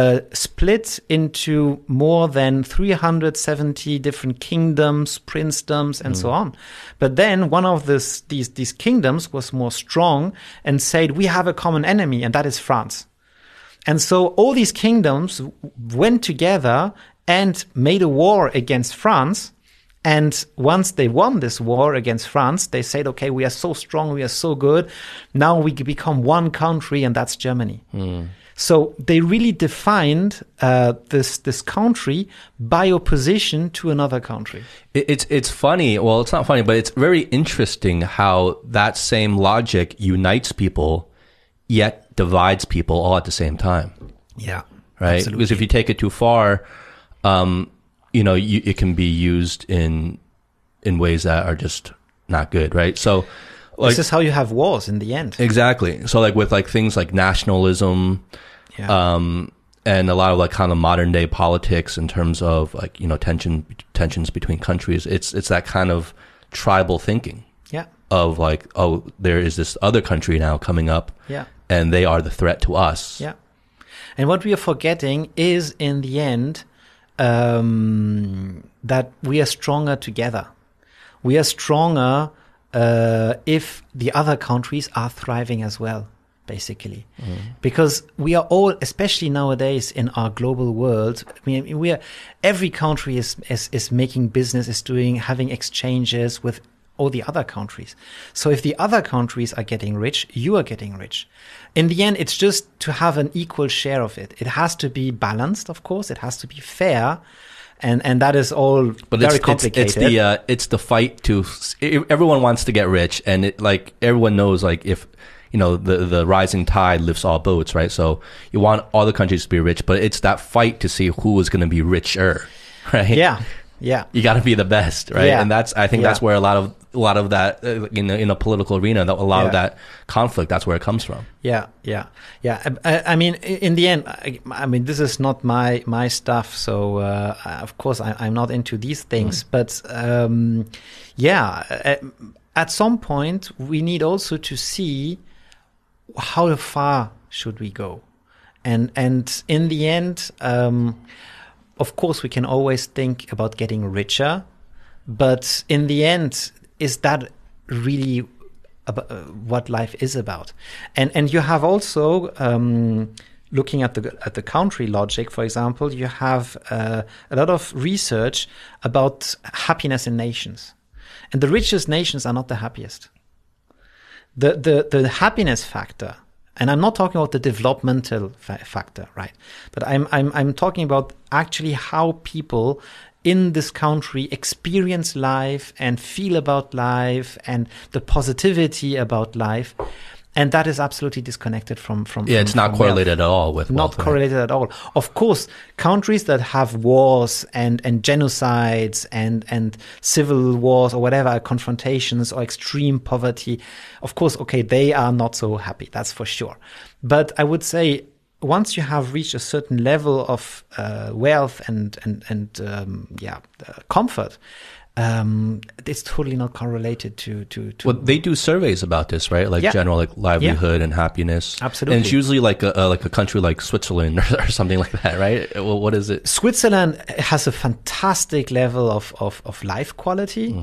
split into more than 370 different kingdoms, princedoms, and so on. But then one of these kingdoms was more strong and said, we have a common enemy, and that is France. And so all these kingdoms went together and made a war against France. And once they won this war against France, they said, okay, we are so strong, we are so good. Now we become one country, and that's Germany. So they really defined this country by opposition to another country. It's funny. Well, it's not funny, but it's very interesting how that same logic unites people, yet divides people all at the same time. Yeah. Right? Absolutely. Because if you take it too far, it can be used in ways that are just not good, right? So, this is how you have wars in the end. Exactly. So, like with like things like nationalism, and a lot of like kind of modern day politics in terms of like tensions between countries. It's that kind of tribal thinking. Yeah. Of like, oh, there is this other country now coming up. Yeah. And they are the threat to us. Yeah. And what we are forgetting is, in the end, that we are stronger together. We are stronger if the other countries are thriving as well, basically. Because we are all, especially nowadays in our global world, I mean, every country is making business, having exchanges with all the other countries. So if the other countries are getting rich, you are getting rich. In the end, it's just to have an equal share of it. It has to be balanced, of course. It has to be fair. And that is all very complicated. It's the fight to, everyone wants to get rich, and everyone knows like if, the rising tide lifts all boats, right? So you want all the countries to be rich, but it's that fight to see who is going to be richer, right? Yeah. Yeah. You got to be the best, right? Yeah. And that's where a lot of that in a political arena, a lot of that conflict, that's where it comes from. Yeah. I mean, in the end, I mean, this is not my stuff. So, of course, I'm not into these things. But, at some point, we need also to see how far should we go. And in the end, of course, we can always think about getting richer, but in the end, is that really what life is about? And you have also, looking at the country logic, for example, you have a lot of research about happiness in nations, and the richest nations are not the happiest. The happiness factor. And I'm not talking about the developmental factor, right? But I'm talking about actually how people in this country experience life and feel about life and the positivity about life. And that is absolutely disconnected from it's not correlated at all with wealth. Not correlated at all. Of course, countries that have wars and genocides and civil wars or whatever, confrontations or extreme poverty, of course, okay, they are not so happy. That's for sure. But I would say once you have reached a certain level of wealth and comfort, it's totally not correlated to. Well, they do surveys about this, right? Like general like livelihood and happiness. Absolutely. And it's usually like a country like Switzerland or something like that, right? Well, what is it? Switzerland has a fantastic level of life quality.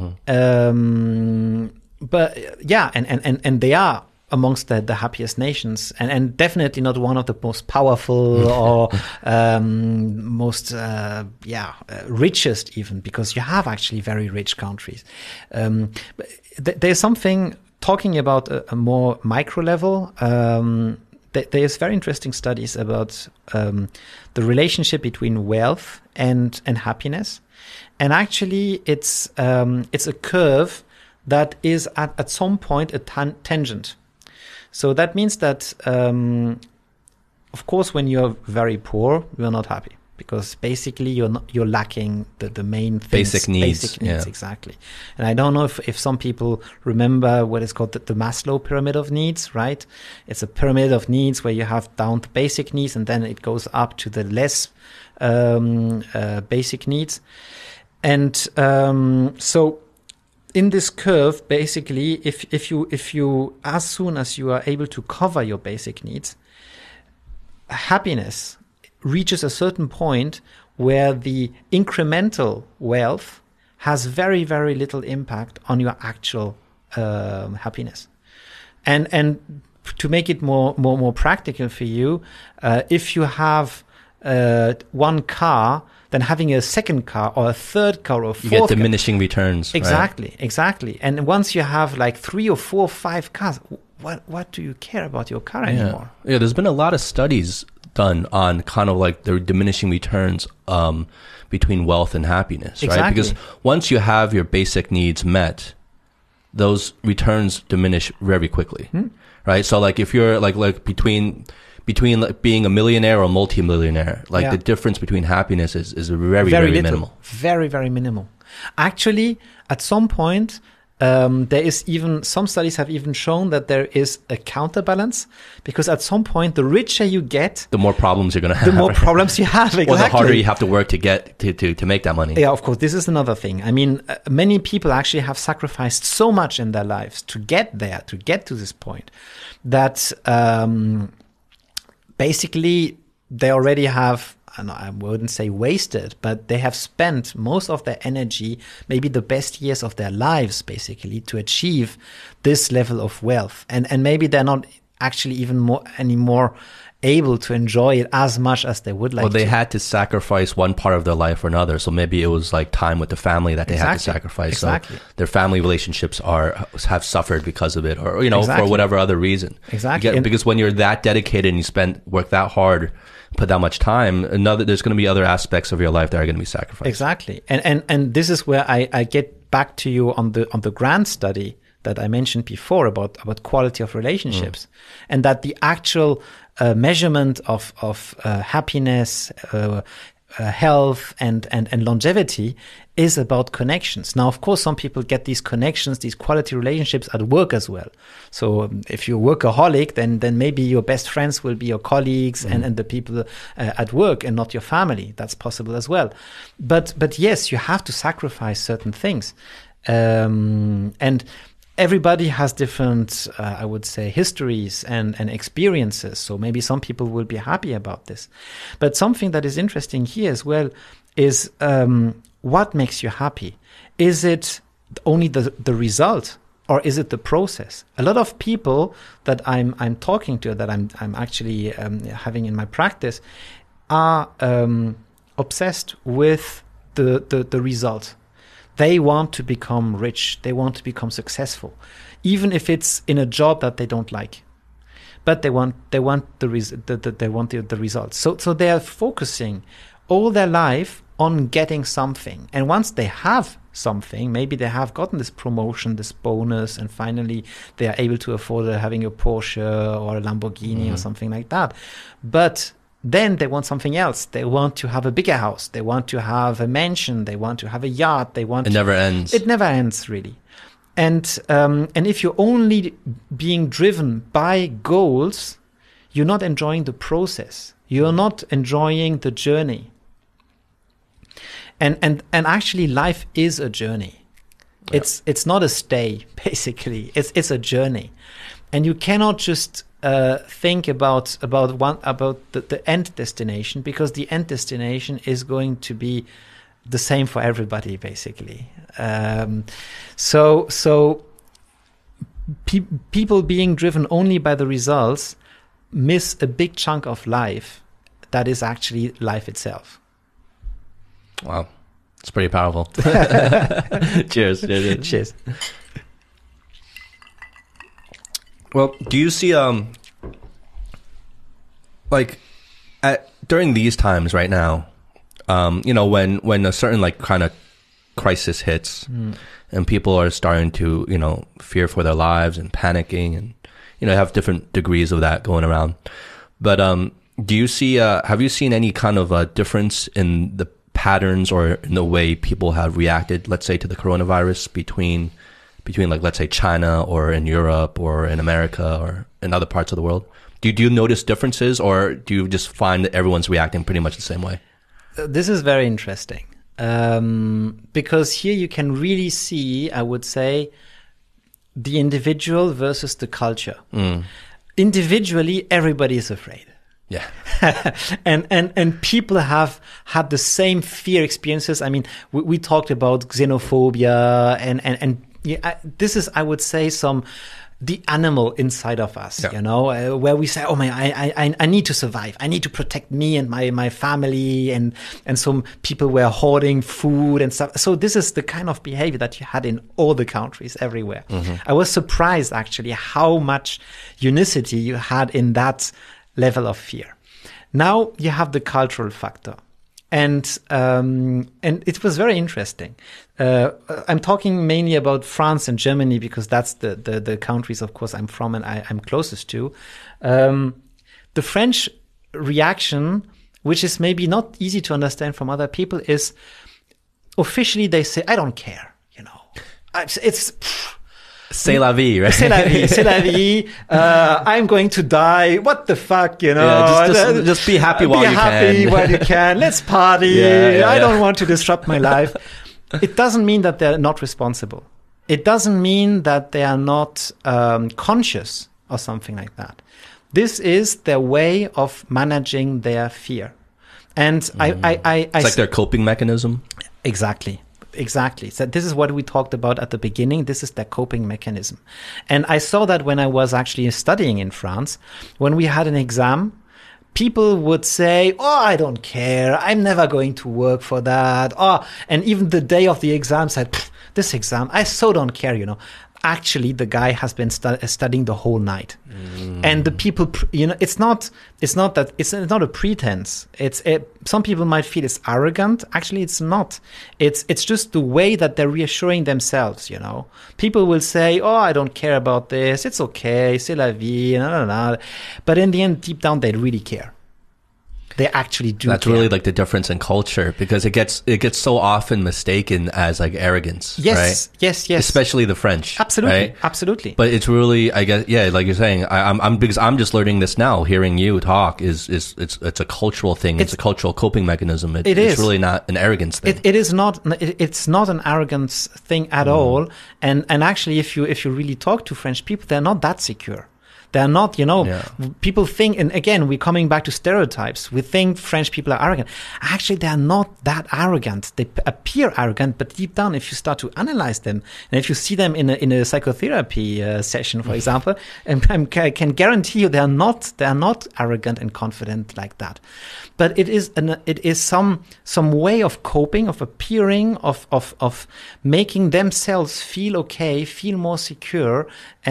But yeah, and they are amongst the happiest nations, and definitely not one of the most powerful or most richest even, because you have actually very rich countries. There's something talking about a more micro level. There's very interesting studies about the relationship between wealth and happiness, and actually it's a curve that is at some point a tangent. So that means that, of course, when you're very poor, you're not happy, because basically you're lacking the main things. Basic needs. Basic needs, exactly. And I don't know if some people remember what is called the Maslow pyramid of needs, right? It's a pyramid of needs where you have down to basic needs, and then it goes up to the less basic needs. And so in this curve, basically, if you as soon as you are able to cover your basic needs, happiness reaches a certain point where the incremental wealth has very, very little impact on your actual happiness. And to make it more practical for you, if you have one car, then having a second car or a third car or a fourth you get diminishing returns. Exactly, right? Exactly. And once you have like 3 or 4 or 5 cars, what do you care about your car anymore? Yeah, there's been a lot of studies done on kind of like the diminishing returns between wealth and happiness, exactly. Right? Because once you have your basic needs met, those returns diminish very quickly, right? So like if you're like between like being a millionaire or a multi-millionaire, like the difference between happiness is very, very minimal. Very, very minimal. Actually, at some point, there is even, some studies have even shown that there is a counterbalance, because at some point, the richer you get, the more problems you're going to have. The more problems you have, exactly. Or the harder you have to work to get to make that money. Yeah, of course. This is another thing. I mean, many people actually have sacrificed so much in their lives to get there, to get to this point, that basically they already have, I wouldn't say wasted, but they have spent most of their energy, maybe the best years of their lives, basically, to achieve this level of wealth. And maybe they're not actually even anymore able to enjoy it as much as they would like to. Well, they had to sacrifice one part of their life or another. So maybe it was like time with the family that they had to sacrifice. Exactly. So their family relationships have suffered because of it, or, for whatever other reason. Exactly. Because when you're that dedicated and you work that hard, put that much time, there's going to be other aspects of your life that are going to be sacrificed. Exactly. And this is where I get back to you on the Grant study that I mentioned before about quality of relationships, and that the actual measurement of happiness, health, and longevity is about connections. Now, of course, some people get these connections, these quality relationships at work as well. So if you're a workaholic, then maybe your best friends will be your colleagues and the people at work, and not your family. That's possible as well. But yes, you have to sacrifice certain things. And everybody has different, I would say, histories and experiences. So maybe some people will be happy about this. But something that is interesting here as well is what makes you happy? Is it only the result, or is it the process? A lot of people that I'm talking to, that I'm actually having in my practice, are obsessed with the result. They want to become rich. They want to become successful, even if it's in a job that they don't like. But they want the results. So they are focusing all their life on getting something. And once they have something, maybe they have gotten this promotion, this bonus, and finally they are able to afford having a Porsche or a Lamborghini or something like that. But then they want something else. They want to have a bigger house. They want to have a mansion. They want to have a yacht. It never ends. It never ends, really. And if you're only being driven by goals, you're not enjoying the process. You're not enjoying the journey. And actually, life is a journey. Yeah. It's not a stay, basically. It's a journey, and you cannot just think about the end destination, because the end destination is going to be the same for everybody, basically. So people being driven only by the results miss a big chunk of life that is actually life itself. Wow, it's pretty powerful. Cheers. Cheers. Well, do you see during these times right now, when a certain kind of crisis hits, and people are starting to fear for their lives and panicking, and have different degrees of that going around. But do you see? Have you seen any kind of a difference in the patterns or in the way people have reacted, let's say, to the coronavirus between let's say China or in Europe or in America or in other parts of the world? Do you notice differences, or do you just find that everyone's reacting pretty much the same way? This is very interesting, because here you can really see, I would say, the individual versus the culture. Individually, everybody is afraid. Yeah. and people have had the same fear experiences. I mean, we talked about xenophobia and this is, I would say, the animal inside of us, where we say, oh man, I need to survive. I need to protect me and my family. And some people were hoarding food and stuff. So this is the kind of behavior that you had in all the countries everywhere. I was surprised actually how much unicity you had in that level of fear. Now you have the cultural factor. And it was very interesting. I'm talking mainly about France and Germany, because that's the countries, of course, I'm from and I'm closest to. The French reaction, which is maybe not easy to understand from other people, is officially they say, I don't care, it's C'est la vie, right? C'est la vie, c'est la vie. I'm going to die. What the fuck, Yeah, just be happy while you can. Be happy while you can. Let's party. I don't want to disrupt my life. It doesn't mean that they're not responsible. It doesn't mean that they are not conscious or something like that. This is their way of managing their fear. And it's like their coping mechanism. Exactly. So this is what we talked about at the beginning. This is their coping mechanism. And I saw that when I was actually studying in France. When we had an exam, people would say, oh, I don't care. I'm never going to work for that. Oh, and even the day of the exam said, this exam, I so don't care, Actually, the guy has been studying the whole night, and the people, it's not a pretense. Some people might feel it's arrogant. Actually, it's not. It's just the way that they're reassuring themselves. People will say, "Oh, I don't care about this. It's okay. C'est la vie." But in the end, deep down, they really care. They actually do. That's care. really like the difference in culture, because it gets so often mistaken as like arrogance. Yes, right? yes. Especially the French. Absolutely, absolutely. But it's really, I guess, like you're saying, because I'm just learning this now. Hearing you talk it's a cultural thing. It's a cultural coping mechanism. It's really not an arrogance thing. It is not. It's not an arrogance thing at all. And actually, if you really talk to French people, they're not that secure. They're not, people think, and again, we're coming back to stereotypes. We think French people are arrogant. Actually, they're not that arrogant. They appear arrogant, but deep down, if you start to analyze them, and if you see them in a psychotherapy session, for example, and I can guarantee you they're not arrogant and confident like that. But it is some way of coping, of appearing, of making themselves feel okay, feel more secure,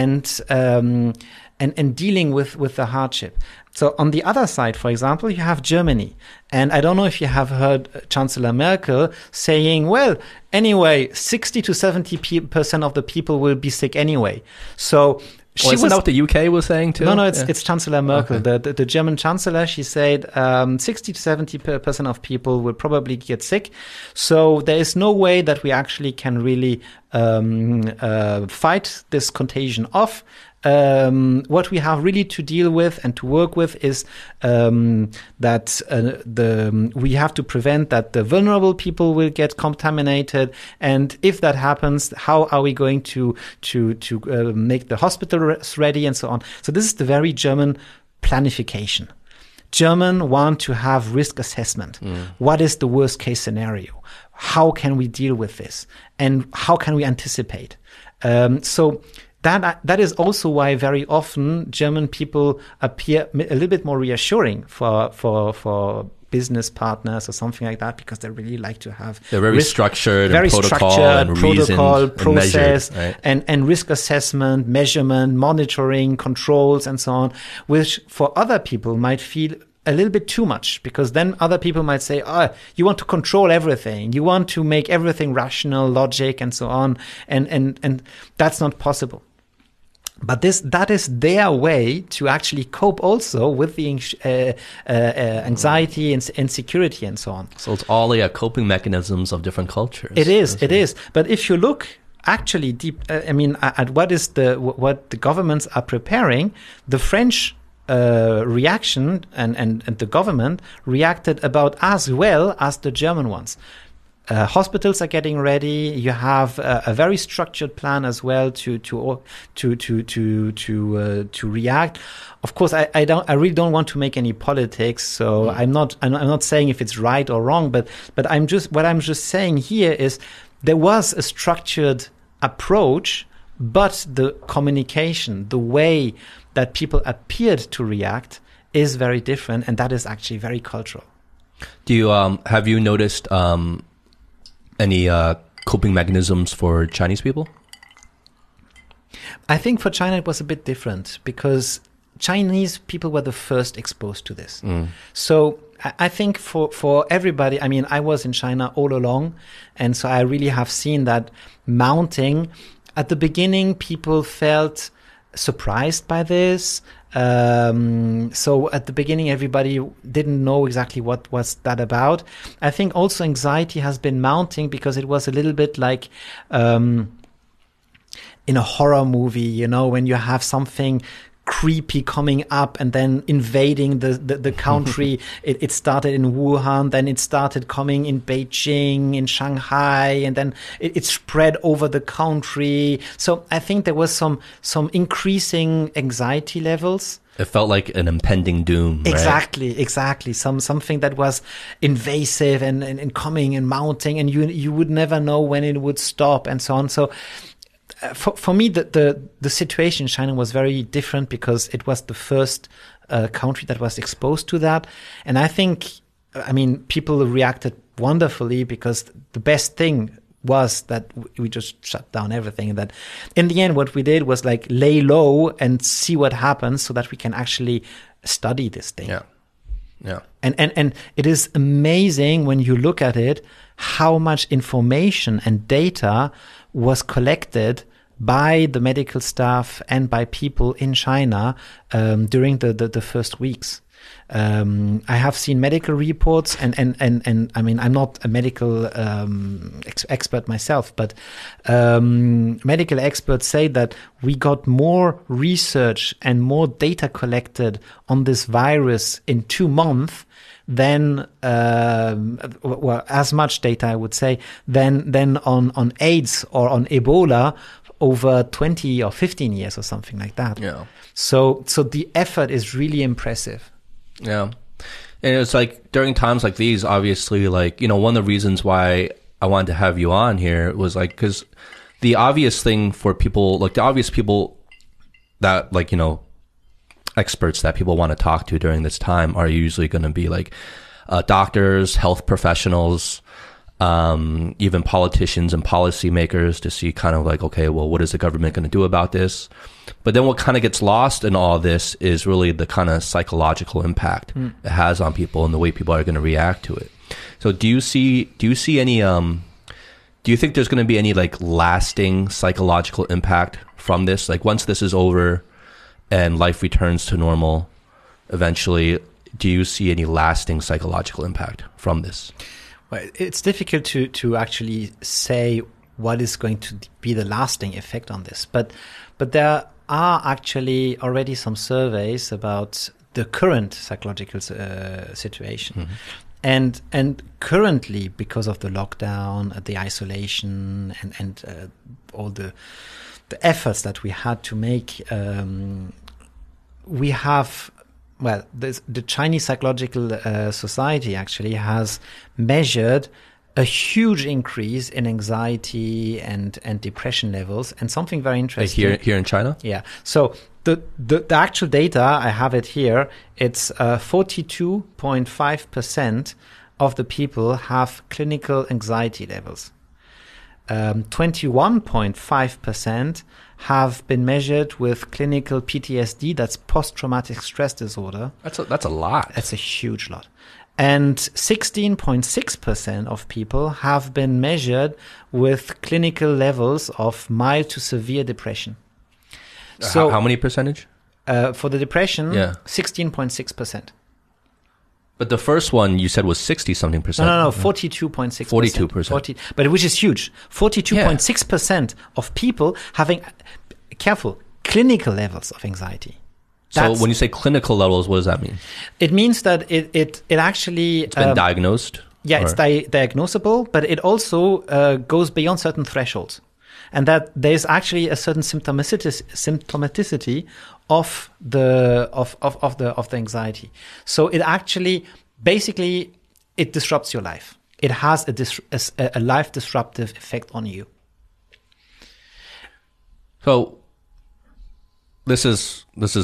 and dealing with the hardship. So on the other side, for example, you have Germany. And I don't know if you have heard Chancellor Merkel saying, well, anyway, 60 to 70% of the people will be sick anyway. So isn't that what the UK was saying too? No, it's Chancellor Merkel. Okay. The German Chancellor, she said 60 to 70% of people will probably get sick. So there is no way that we actually can really fight this contagion off. What we have really to deal with and to work with is that we have to prevent that the vulnerable people will get contaminated, and if that happens, how are we going to make the hospitals ready and so on. So this is the very German planification. German want to have risk assessment. What is the worst case scenario? How can we deal with this? And how can we anticipate? So that is also why very often German people appear a little bit more reassuring for business partners or something like that, because they really like to have they're very structured, very and protocol, structured and protocol, reasoned, process, and, measured, right? and risk assessment, measurement, monitoring, controls, and so on, which for other people might feel a little bit too much, because then other people might say, you want to control everything, you want to make everything rational, logic, and so on, and that's not possible. But that is their way to actually cope also with the anxiety and insecurity and so on. So it's all coping mechanisms of different cultures. It is. But if you look actually deep, at what the governments are preparing, the French reaction and the government reacted about as well as the German ones. Hospitals are getting ready. You have a very structured plan as well to react. Of course, I really don't want to make any politics. So I'm not saying if it's right or wrong. But what I'm just saying here is there was a structured approach, but the communication, the way that people appeared to react, is very different, and that is actually very cultural. Do you have you noticed any coping mechanisms for Chinese people? I think for China it was a bit different, because Chinese people were the first exposed to this. So I think for everybody, I was in China all along, and so I really have seen that mounting. At the beginning, people felt surprised by this. So at the beginning, everybody didn't know exactly what was that about. I think also anxiety has been mounting because it was a little bit like in a horror movie, when you have something creepy coming up and then invading the country. It started in Wuhan, then it started coming in Beijing, in Shanghai, and then it spread over the country. So I think there was some increasing anxiety levels. It felt like an impending doom, right? Exactly. Something that was invasive and coming and mounting, and you would never know when it would stop and so on. So for me, the situation in China was very different because it was the first country that was exposed to that. And I think, people reacted wonderfully, because the best thing was that we just shut down everything. And that in the end, what we did was lay low and see what happens so that we can actually study this thing. Yeah. And it is amazing when you look at it, how much information and data was collected by the medical staff and by people in China during the first weeks. I have seen medical reports, and I'm not a medical expert myself, but medical experts say that we got more research and more data collected on this virus in 2 months than as much data, I would say, than on AIDS or on Ebola over 20 or 15 years or something like that. Yeah. So the effort is really impressive. Yeah. And it's during times like these, obviously, one of the reasons why I wanted to have you on here was because the obvious thing for people, the obvious people that experts that people want to talk to during this time are usually going to be doctors, health professionals, even politicians and policymakers, to see okay, well, what is the government going to do about this? But then what kind of gets lost in all this is really the kind of psychological impact it has on people and the way people are going to react to it. So do you see any, do you think there's going to be any lasting psychological impact from this? Once this is over and life returns to normal eventually, do you see any lasting psychological impact from this? Well, it's difficult to actually say what is going to be the lasting effect on this. But there are actually already some surveys about the current psychological situation. And currently, because of the lockdown, the isolation, and all the efforts that we had to make, we have, well, the Chinese Psychological Society actually has measured a huge increase in anxiety and depression levels, and something very interesting. Like here in China? Yeah. So the actual data, I have it here, it's 42.5% of the people have clinical anxiety levels. 21.5% have been measured with clinical PTSD, that's post-traumatic stress disorder. That's a lot. That's a huge lot. And 16.6% of people have been measured with clinical levels of mild to severe depression. So how many percentage? For the depression, yeah. 16.6%. But the first one you said was 60-something percent. No, 42.6%. 42%. But which is huge. 42.6% of people having, careful, clinical levels of anxiety. So when you say clinical levels, what does that mean? It means that it actually... It's been diagnosed? Yeah, it's diagnosable, but it also goes beyond certain thresholds. And that there's actually a certain symptomaticity of the anxiety. So it actually, basically, it disrupts your life. It has a life disruptive effect on you. So this is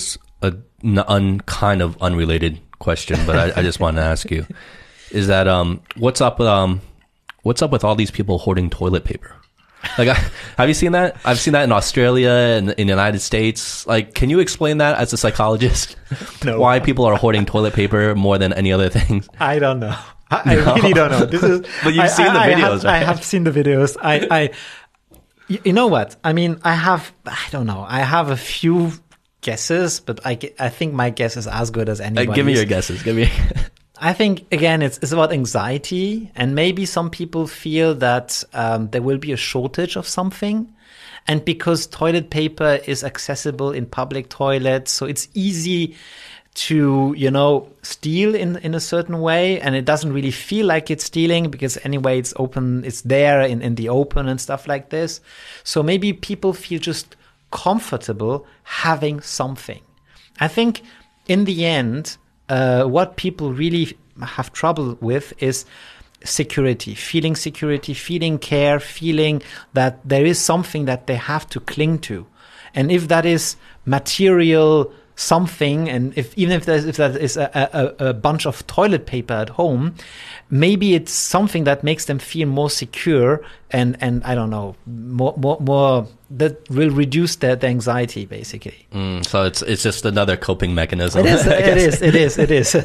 kind of unrelated question, but I just want to ask you: is that what's up with all these people hoarding toilet paper? Like, have you seen that? I've seen that in Australia and in the United States. Like, can you explain that as a psychologist? No. Why people are hoarding toilet paper more than any other things? I don't know. I really don't know. This is. But you've seen the videos, right? I have seen the videos. You know what? I mean, I don't know. I have a few guesses, but I think my guess is as good as anybody's. Give me your guesses. Give me. I think, again, it's about anxiety, and maybe some people feel that there will be a shortage of something. And because toilet paper is accessible in public toilets, so it's easy to, steal in a certain way, and it doesn't really feel like it's stealing because anyway it's open, it's there in the open and stuff like this. So maybe people feel just comfortable having something. I think in the end, what people really have trouble with is security, feeling care, feeling that there is something that they have to cling to. And if that is material something, and even if that is a bunch of toilet paper at home, maybe it's something that makes them feel more secure and I don't know, more that will reduce their anxiety, basically. So it's just another coping mechanism. It is.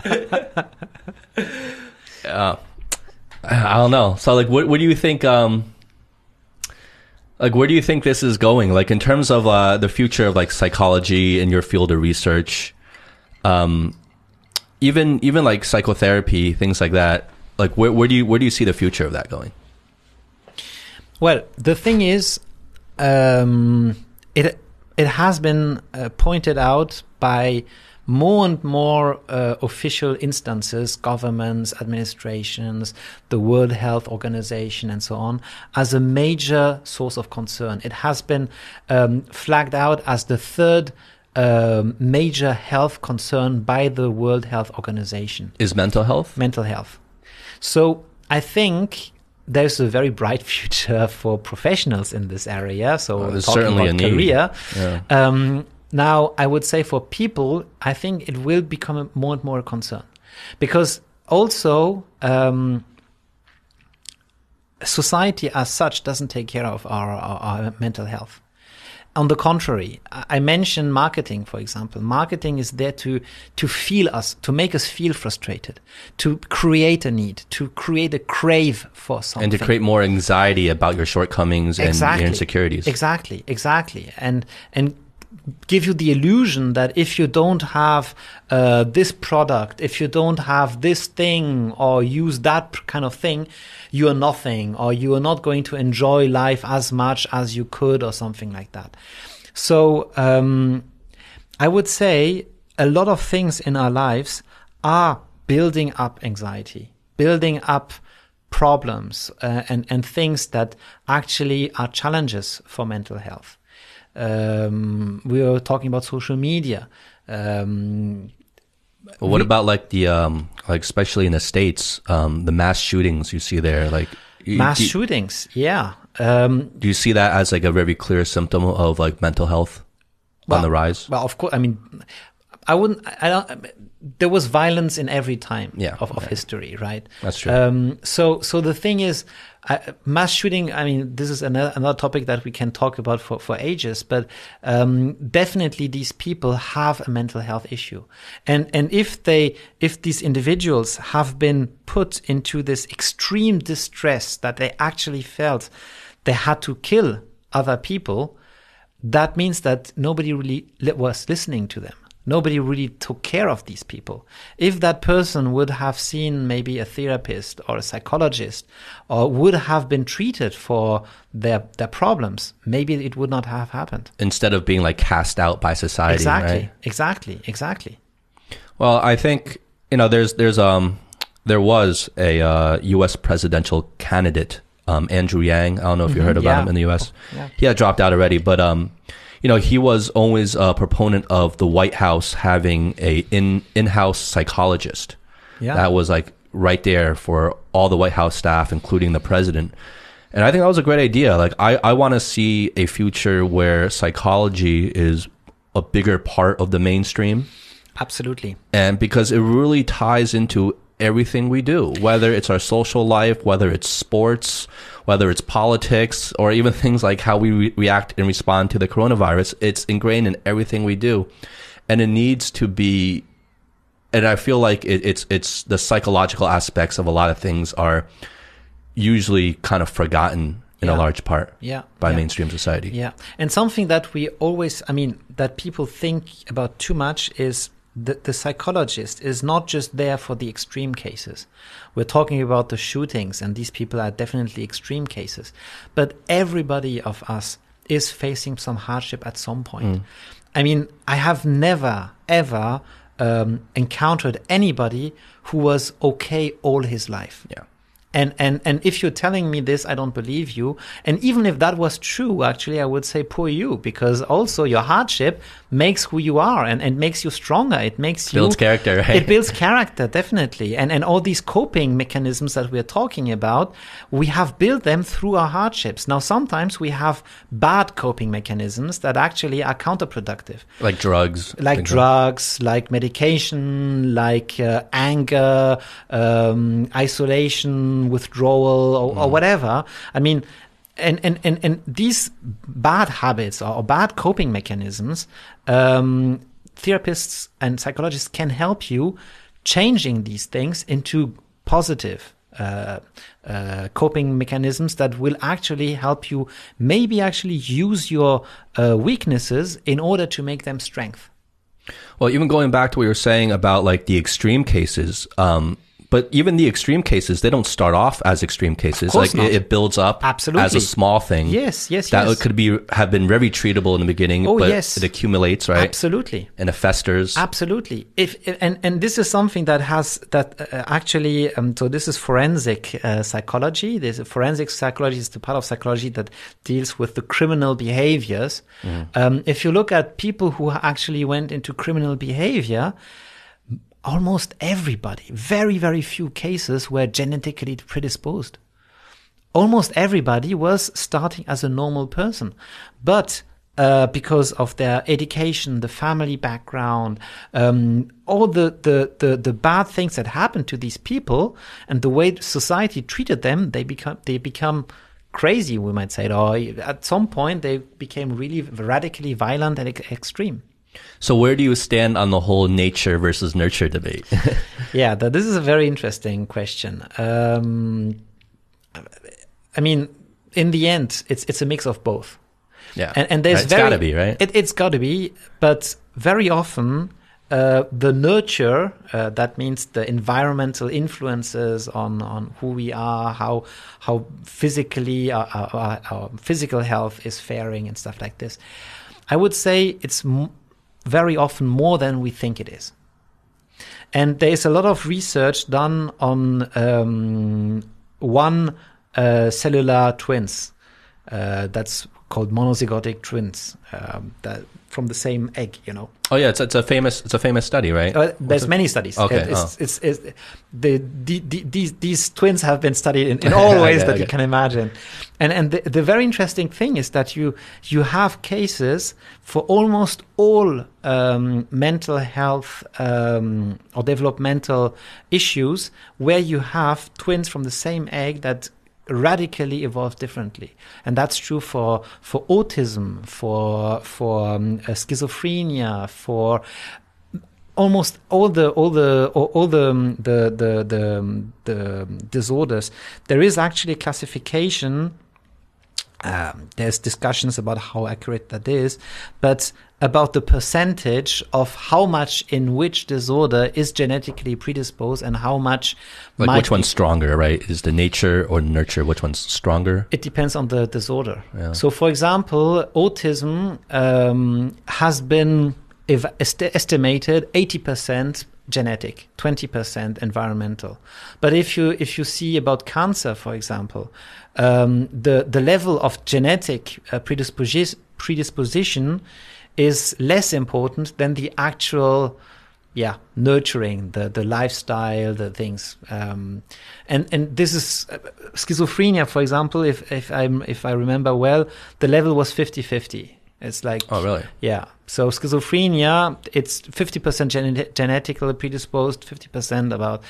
I don't know. So like, what do you think? Like, where do you think this is going? Like, in terms of the future of like psychology in your field of research, even like psychotherapy, things like that. Like, where do you see the future of that going? Well, the thing is, it has been pointed out by more and more official instances, governments, administrations, the World Health Organization, and so on, as a major source of concern. It has been flagged out as the third major health concern by the World Health Organization. Is mental health? Mental health. So I think there's a very bright future for professionals in this area. So there's talking certainly about a need. career. Yeah. Now, I would say for people, I think it will become more and more a concern. Because also, society as such doesn't take care of our mental health. On the contrary, I mentioned marketing, for example. Marketing is there to feel us, to make us feel frustrated, to create a need, to create a crave for something. And to create more anxiety about your shortcomings and your insecurities. Exactly. And give you the illusion that if you don't have this product, if you don't have this thing or use that kind of thing, you are nothing, or you are not going to enjoy life as much as you could, or something like that. So I would say a lot of things in our lives are building up anxiety, building up problems, and things that actually are challenges for mental health. We were talking about social media. What about like the like especially in the States, the mass shootings you see there, like shootings? Yeah. Do you see that as like a very clear symptom of like mental health on the rise? Well, of course. I mean, there was violence in every time of history, right? That's true. So the thing is, mass shooting, I mean, this is another topic that we can talk about for ages, but definitely these people have a mental health issue. And if these individuals have been put into this extreme distress that they actually felt they had to kill other people, that means that nobody really was listening to them. Nobody really took care of these people. If that person would have seen maybe a therapist or a psychologist, or would have been treated for their problems, maybe it would not have happened. Instead of being like cast out by society, right? Exactly. Well, I think, there was a U.S. presidential candidate, Andrew Yang. I don't know if you heard about him in the U.S. Yeah. He had dropped out already, but he was always a proponent of the White House having a in-house psychologist. Yeah. That was like right there for all the White House staff, including the president. And I think that was a great idea. Like I want to see a future where psychology is a bigger part of the mainstream. Absolutely. And because it really ties into everything we do, whether it's our social life, whether it's sports, whether it's politics, or even things like how we react and respond to the coronavirus. It's ingrained in everything we do. And it needs to be, and I feel like it's the psychological aspects of a lot of things are usually kind of forgotten in a large part by mainstream society. Yeah. And something that we always, that people think about too much is the psychologist is not just there for the extreme cases. We're talking about the shootings, and these people are definitely extreme cases. But everybody of us is facing some hardship at some point. I have never, ever encountered anybody who was okay all his life. Yeah. And if you're telling me this, I don't believe you. And even if that was true, actually, I would say poor you, because also your hardship makes who you are and makes you stronger. It makes you... builds character, right? It builds character, definitely. And all these coping mechanisms that we're talking about, we have built them through our hardships. Now, sometimes we have bad coping mechanisms that actually are counterproductive. Like drugs. Like drugs, like medication, like anger, isolation, withdrawal, or whatever. And these bad habits or bad coping mechanisms, therapists and psychologists can help you changing these things into positive coping mechanisms that will actually help you maybe actually use your weaknesses in order to make them strength. Well, even going back to what you were saying about like the extreme cases, but even the extreme cases, they don't start off as extreme cases. Like it builds up as a small thing. Yes. That could have been very treatable in the beginning, but it accumulates, right? Absolutely. And it festers. Absolutely. And this is something that actually, so this is forensic psychology. Forensic psychology is the part of psychology that deals with the criminal behaviors. If you look at people who actually went into criminal behavior, almost everybody, very, very few cases were genetically predisposed. Almost everybody was starting as a normal person. But because of their education, the family background, all the bad things that happened to these people and the way society treated them, they become crazy, we might say. Or at some point, they became really radically violent and extreme. So where do you stand on the whole nature versus nurture debate? Yeah, this is a very interesting question. In the end, it's a mix of both. Yeah. And there's it's got to be, right? It's got to be, but very often the nurture, that means the environmental influences on who we are, how physically our physical health is faring and stuff like this. I would say it's very often more than we think it is. And there is a lot of research done on one cellular twins that's called monozygotic twins, that from the same egg, you know. Oh yeah, it's a famous study, right? There's many studies. Okay. These twins have been studied in all ways that you can imagine, and the very interesting thing is that you have cases for almost all mental health or developmental issues where you have twins from the same egg that radically evolve differently, and that's true for autism, for schizophrenia, for almost all the disorders. There is actually a classification. There's discussions about how accurate that is, but about the percentage of how much in which disorder is genetically predisposed and how much which one's stronger, right? Is the nature or nurture, which one's stronger? It depends on the disorder. Yeah. So, for example, autism has been estimated 80% genetic, 20% environmental. But if you see about cancer, for example, the level of genetic predisposition is less important than the actual nurturing, the lifestyle, the things. And this is schizophrenia, for example, if I remember well, the level was 50-50. It's like, oh really? Yeah. So schizophrenia, it's 50% genetically predisposed, 50% about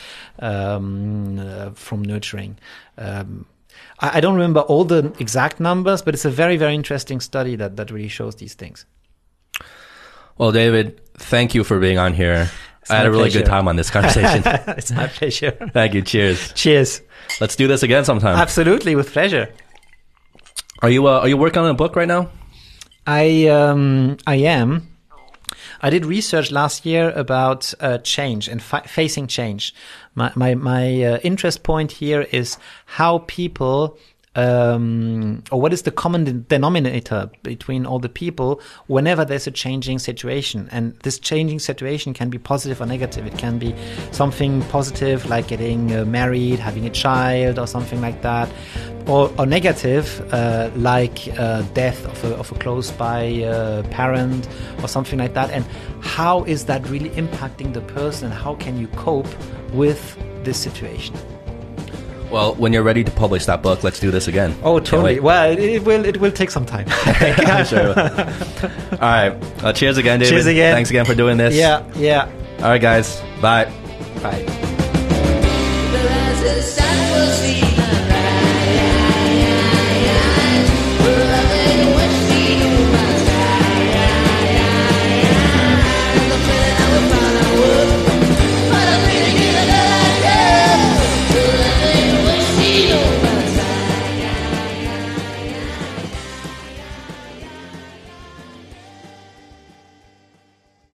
from nurturing. I don't remember all the exact numbers, but it's a very, very interesting study that really shows these things. Well, David, thank you for being on here. I had a really good time on this conversation. It's my pleasure. Thank you. Cheers. Cheers. Let's do this again sometime. Absolutely, with pleasure. Are you working on a book right now? I am. I did research last year about change and facing change. My interest point here is how people, or what is the common denominator between all the people whenever there's a changing situation. And this changing situation can be positive or negative. It can be something positive like getting married, having a child or something like that. Or negative, like death of a close by parent or something like that. And how is that really impacting the person? How can you cope with this situation? Well, when you're ready to publish that book, let's do this again. Oh, totally. Well, it will take some time. I'm sure. All right. Cheers again, David. Cheers again. Thanks again for doing this. Yeah. All right, guys. Bye. Bye. But as the sun will see